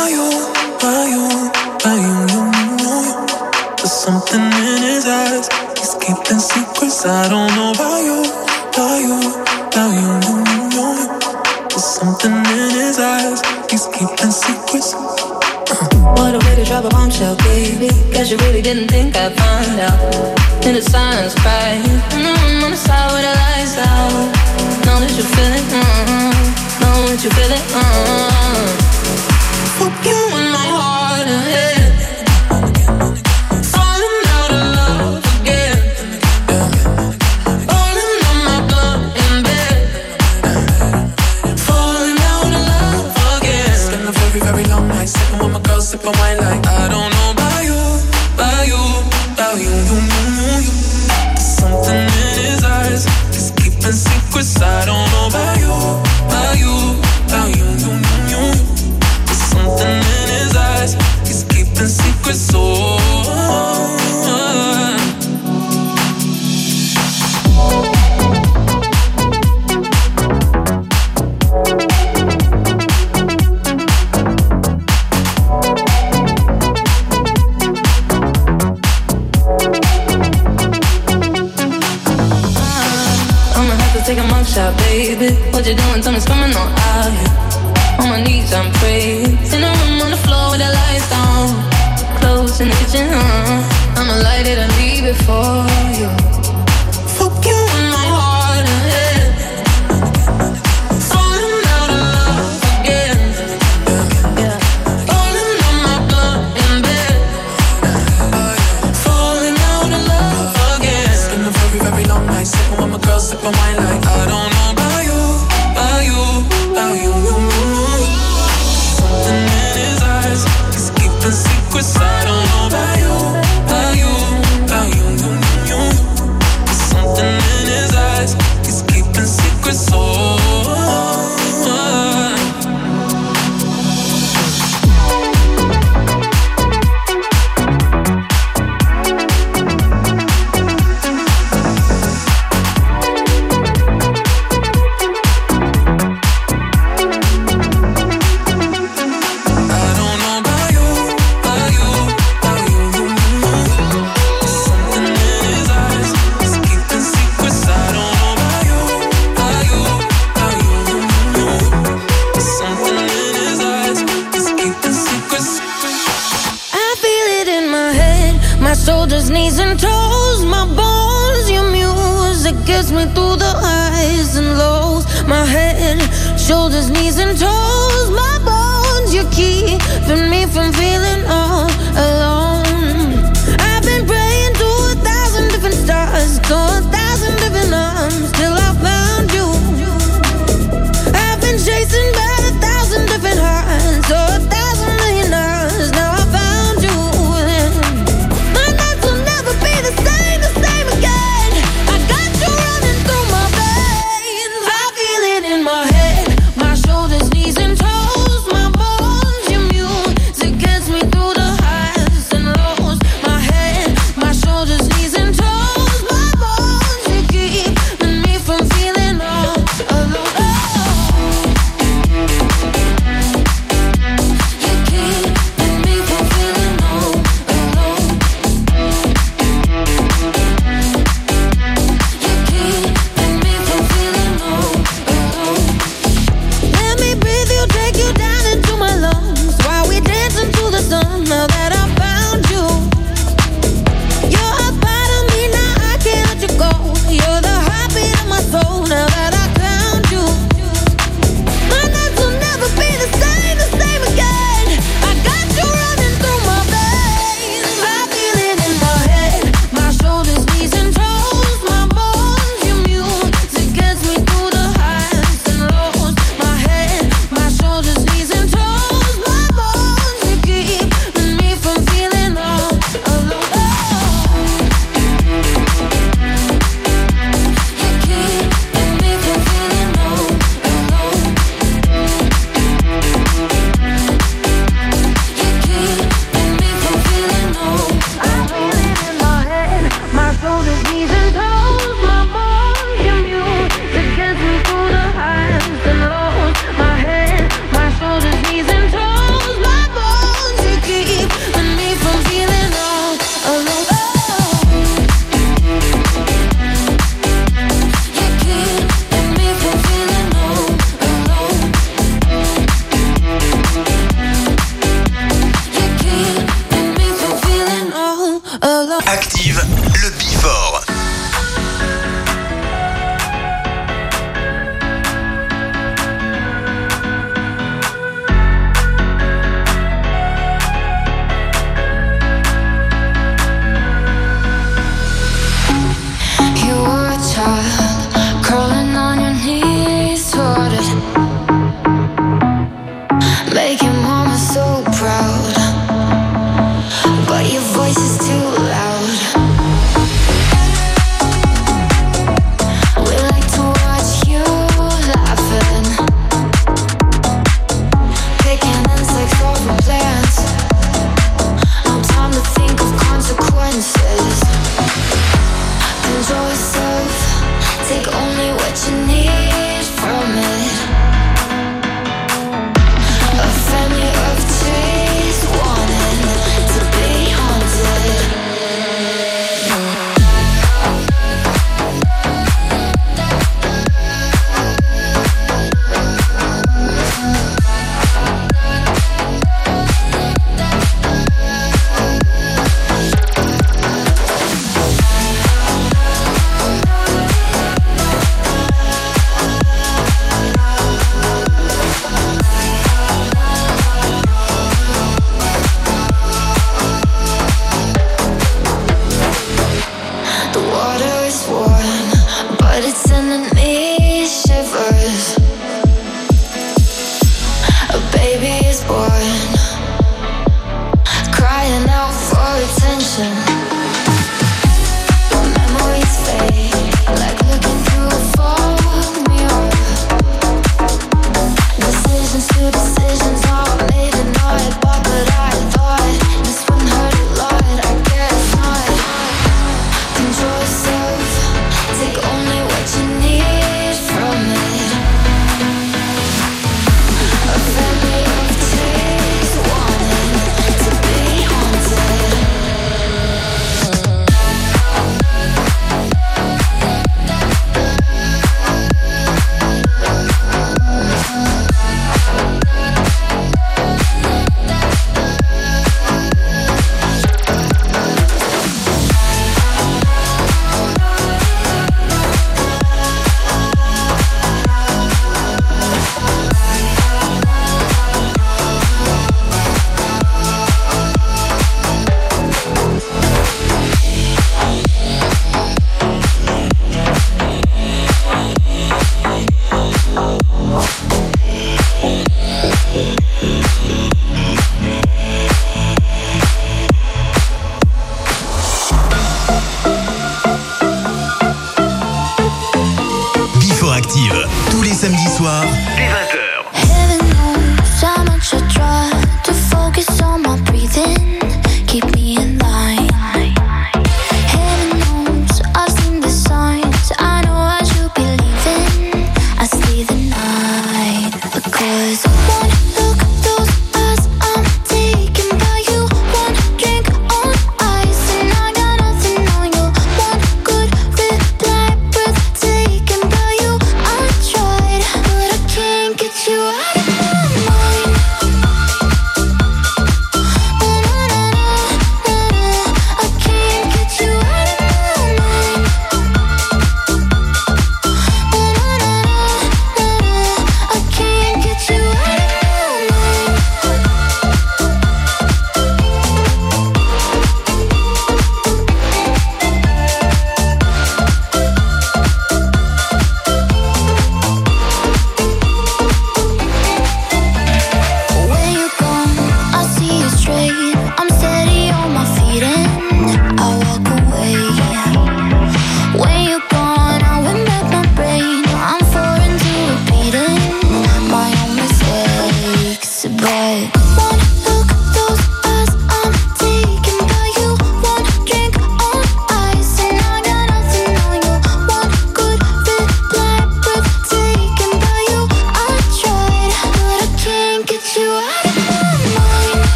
about you, about you, about you, you. There's something in his eyes, he's keeping secrets. I don't know about you, about you, about you, you. There's something in his eyes, he's keeping secrets. What a way to drop a bombshell, baby. Guess you really didn't think I'd find out. In the silence, crying. On the side with the lights out. Know that you feel it, know that you feel it, Fuck you in my heart and head. Falling out of love again. Falling on my blood in bed. Falling out of love again. Spend a very, very long night sipping with my girl, sipping wine like I don't know about you, about you, about you, you. There's something in his eyes, he's keeping secrets. I don't know about you, about you, about you, you. There's something in his eyes, he's keeping secrets. So take a mug shot, baby. What you doing? Tell me, coming on out here. On my knees, I'm praying. In a room on the floor with the lights down. Clothes in the kitchen, I'ma light it and leave it for you. Fuck you in my heart and head. Falling out of love again. Falling on my blood in bed. Falling out of love again. It's been a very, very long night sipping with my girl, sipping wine like I don't know about you, about you, about you, you. Something in his eyes, he's keeping secrets. I don't know about you, about you, about you, you. There's something in his eyes, he's keeping secrets. Shoulders, knees and toes, my bones, your music gets me through the highs and lows. My head, shoulders, knees and toes, my bones, you're keeping me from feeling all alone. I've been praying to 1,000 different stars, to 1,000 different arms, till I found you. I've been chasing by 1,000 different hearts, to 1,000 million hours, now I found you. My shoulders, knees and toes, my bones, your music gets me through the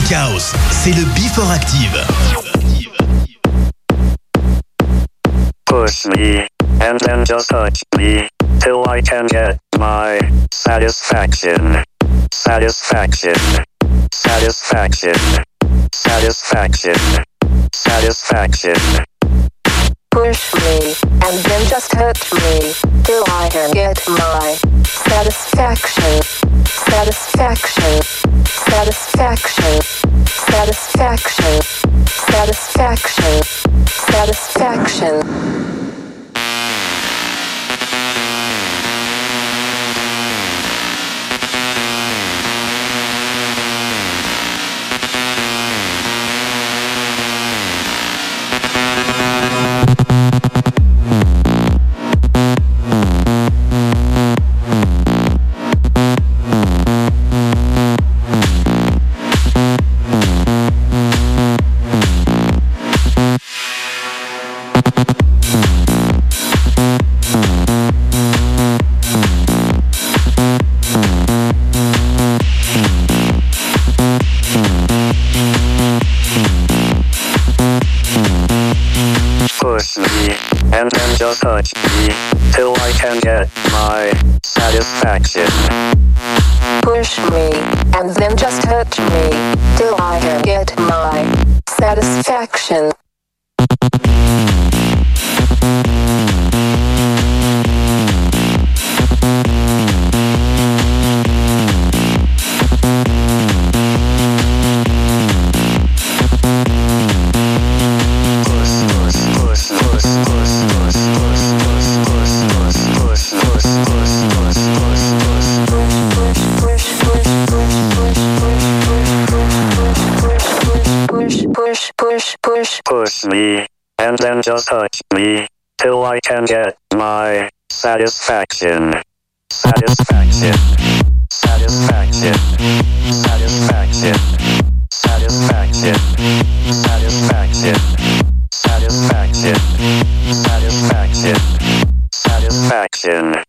Tech House, c'est le Before Active. Push me, and then just touch me, till I can get my satisfaction. Satisfaction. Satisfaction. Satisfaction. Satisfaction. Push me, and then just hurt me, till I can get my satisfaction. Satisfaction. Satisfaction. Satisfaction. Satisfaction. Satisfaction. Push me, and then just touch me, till I can get my satisfaction. Push me, and then just hurt me, till I can get my satisfaction. Push me, and then just touch me, till I can get my satisfaction. Satisfaction. Satisfaction. Satisfaction. Satisfaction. Satisfaction. Satisfaction. Satisfaction. Satisfaction.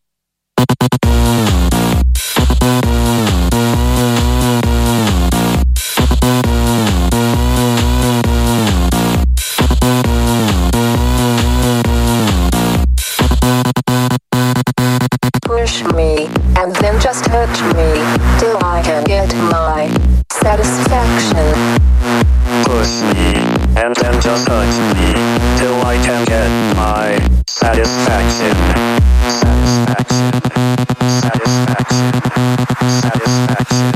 Push me, and then just hurt me, till I can get my satisfaction. Push me, and then just touch me, till I can get my satisfaction. Satisfaction. Satisfaction. Satisfaction.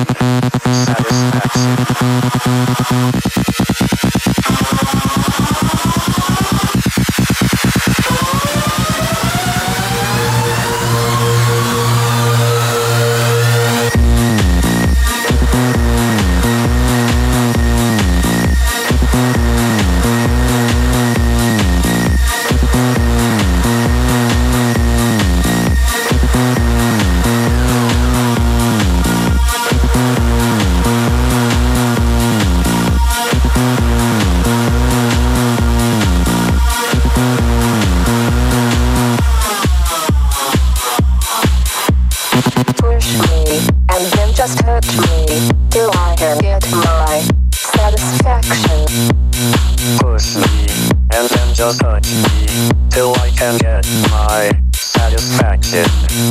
Push me, and then just touch me, till I can get my satisfaction.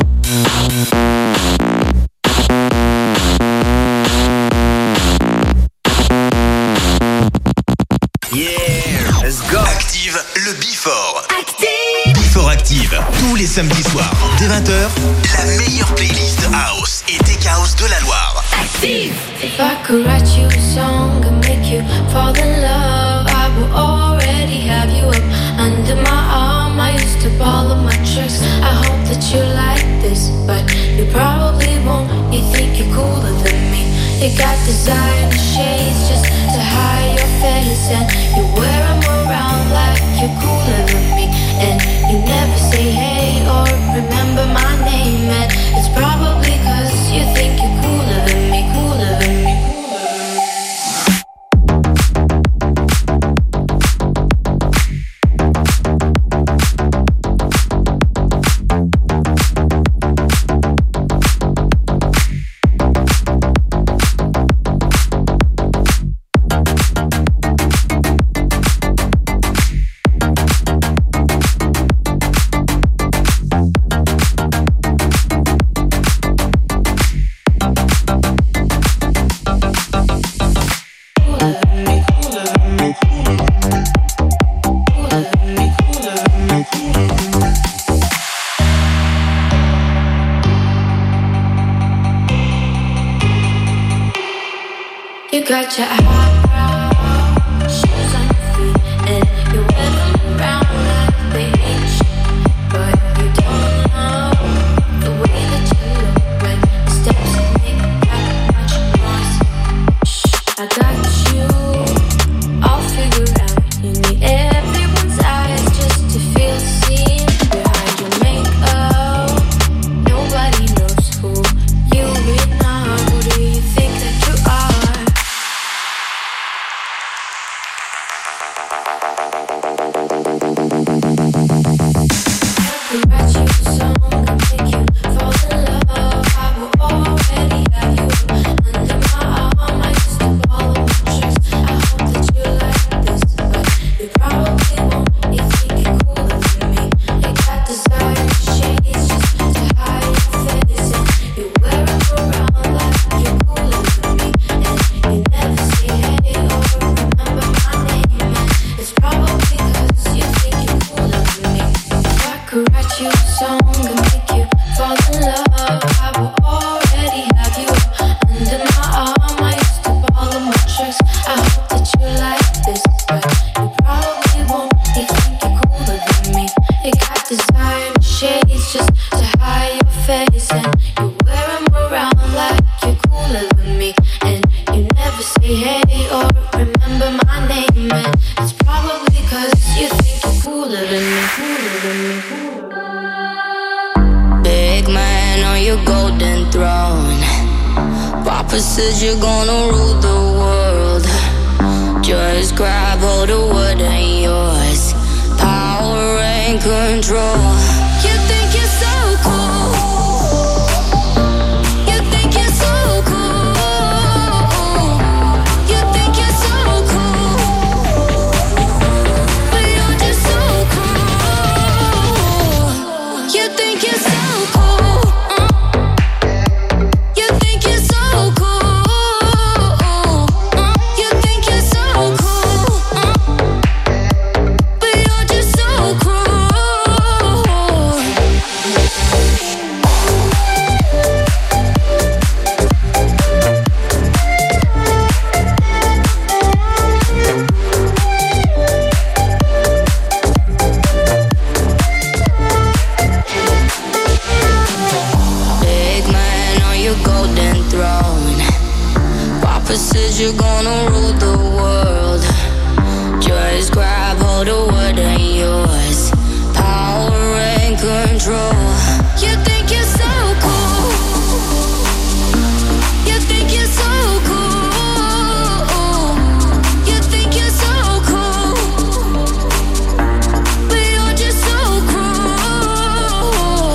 Yeah, let's go. Active le Before. Active. Before Active, tous les samedis soirs, dès 20h, la meilleure playlist house et tech house de la Loire. Active. If I could write you a song and make you fall in love, I would already have you up under my arm. I used to follow my tricks. I hope that you like this, but you probably won't. You think you're cooler than me. You got designer shades just to hide your face, and you wear them around like you're cooler than me. And you never say hey or remember my name, and it's probably 'cause you think you're cooler than me, cooler than me. You got your eyebrows, shoes on your feet, and you wear them around like they mean shit. But you don't know the way that you look when the steps make that much noise. Shh, I got you all figured out. You need everyone's eyes just to feel seen. Behind your makeup, nobody knows who you really are. Who do you think that you are? You're gonna rule the world. Just grab hold of what ain't yours. Power and control. You think you're so cool. You think you're so cool. You think you're so cool. But you're just so cool. You think you're so cool. You think you're so cool. You're gonna rule the world. Just grab hold of what ain't yours. Power and control. You think you're so cool. You think you're so cool. You think you're so cool. But you're just so cruel.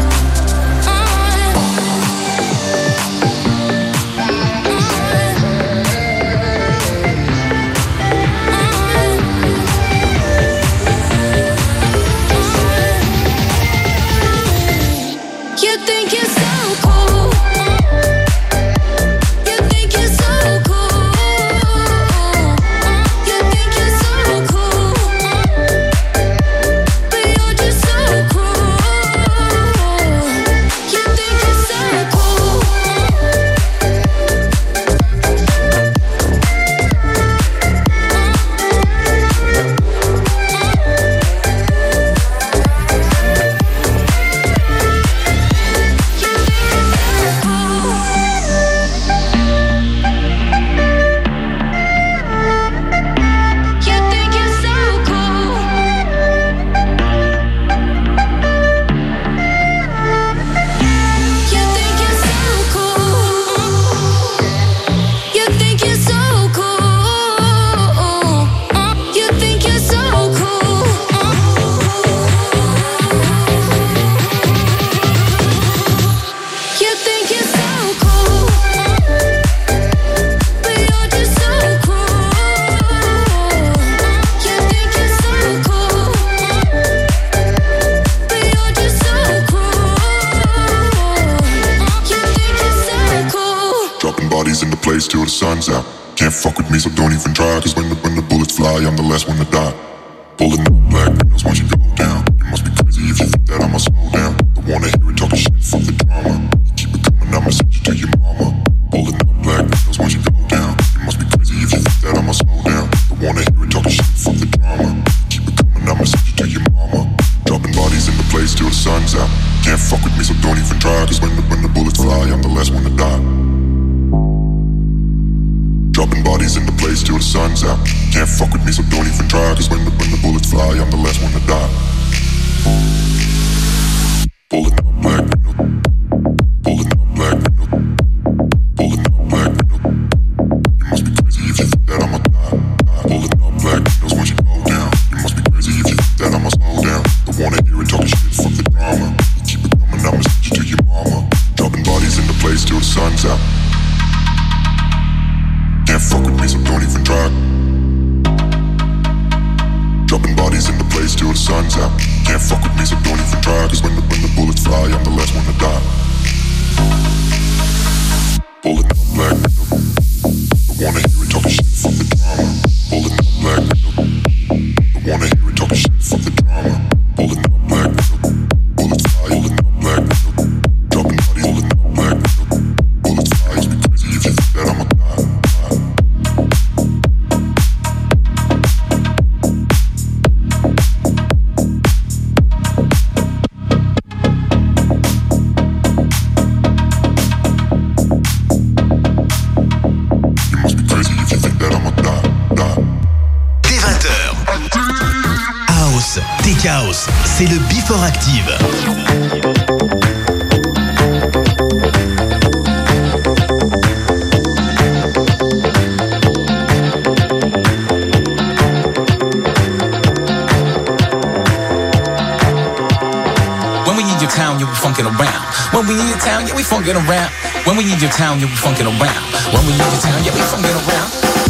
You think you're so cool. You think you're so cool. You think you're so cool. But you're just so cruel. You think you're so cool. place till the sun's out. Can't fuck with me, so don't even try. Cause when the bullets fly, I'm the last one to die. Pulling up black windows once you go down. You must be crazy if you think that I'ma slow down. Don't wanna hear it talking shit for the drama. Keep it coming, I'ma send you to your mama. Pulling up black windows once you go down. You must sun's out. Can't fuck with me, so don't even try. Cause when the bullets fly, I'm the last one to die. Pulling up black window. Pulling up black window. Pulling up black window. You must be crazy if you think that I'ma die. Pulling up black windows once you go down. You must be crazy if you think that I'ma slow down. Don't wanna hear it talking shit, fuck the drama. Keep it coming, I'ma send you to your mama. Dropping bodies in the place till the sun's out. Can't fuck with me, so don't even try. Dropping bodies in the place till the sun's out. Can't fuck with me, so don't even try. Cause when the bullets fly, I'm the last one to die. Pulling up black window. Don't wanna hear it talking shit, fuck the drama. Pulling up black window. Don't wanna hear it talking shit, fuck the drama. Pulling up black window. Bullets fly, pulling up black window. Dropping bodies, pulling up black window. Bullets fly, you be crazy if you think that I'ma die. House, c'est le Before Active. When we need your town, you be funkin' around. When we need your town, yeah, we funkin' around. When we need your town, you be funkin' around. When we need your town, yeah, we funkin' around.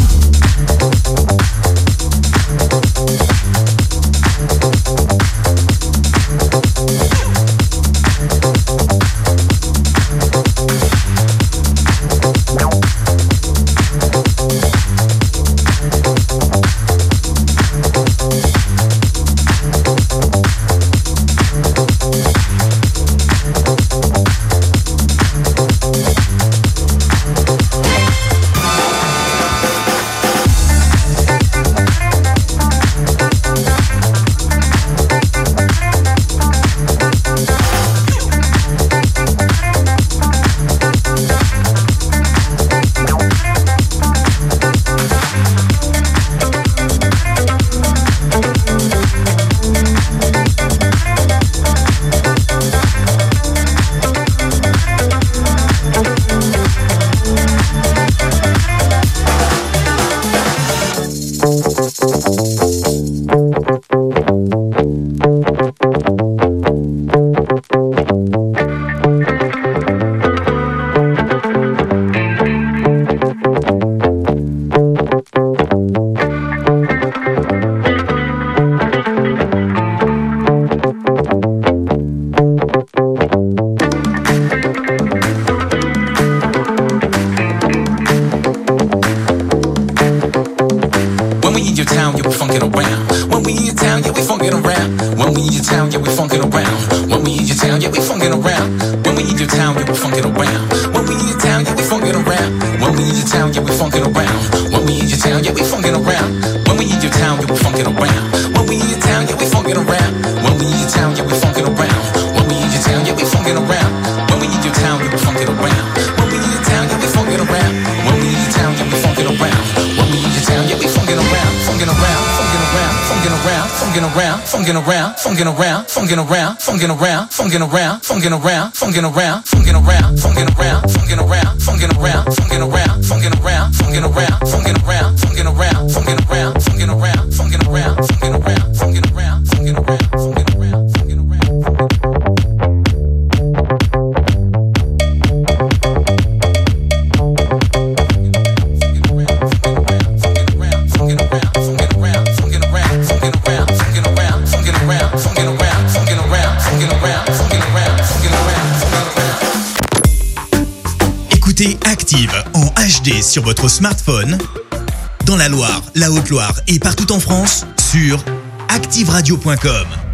Écoutez Active en HD sur votre smartphone, dans la Loire, la Haute-Loire et partout en France, sur activeradio.com.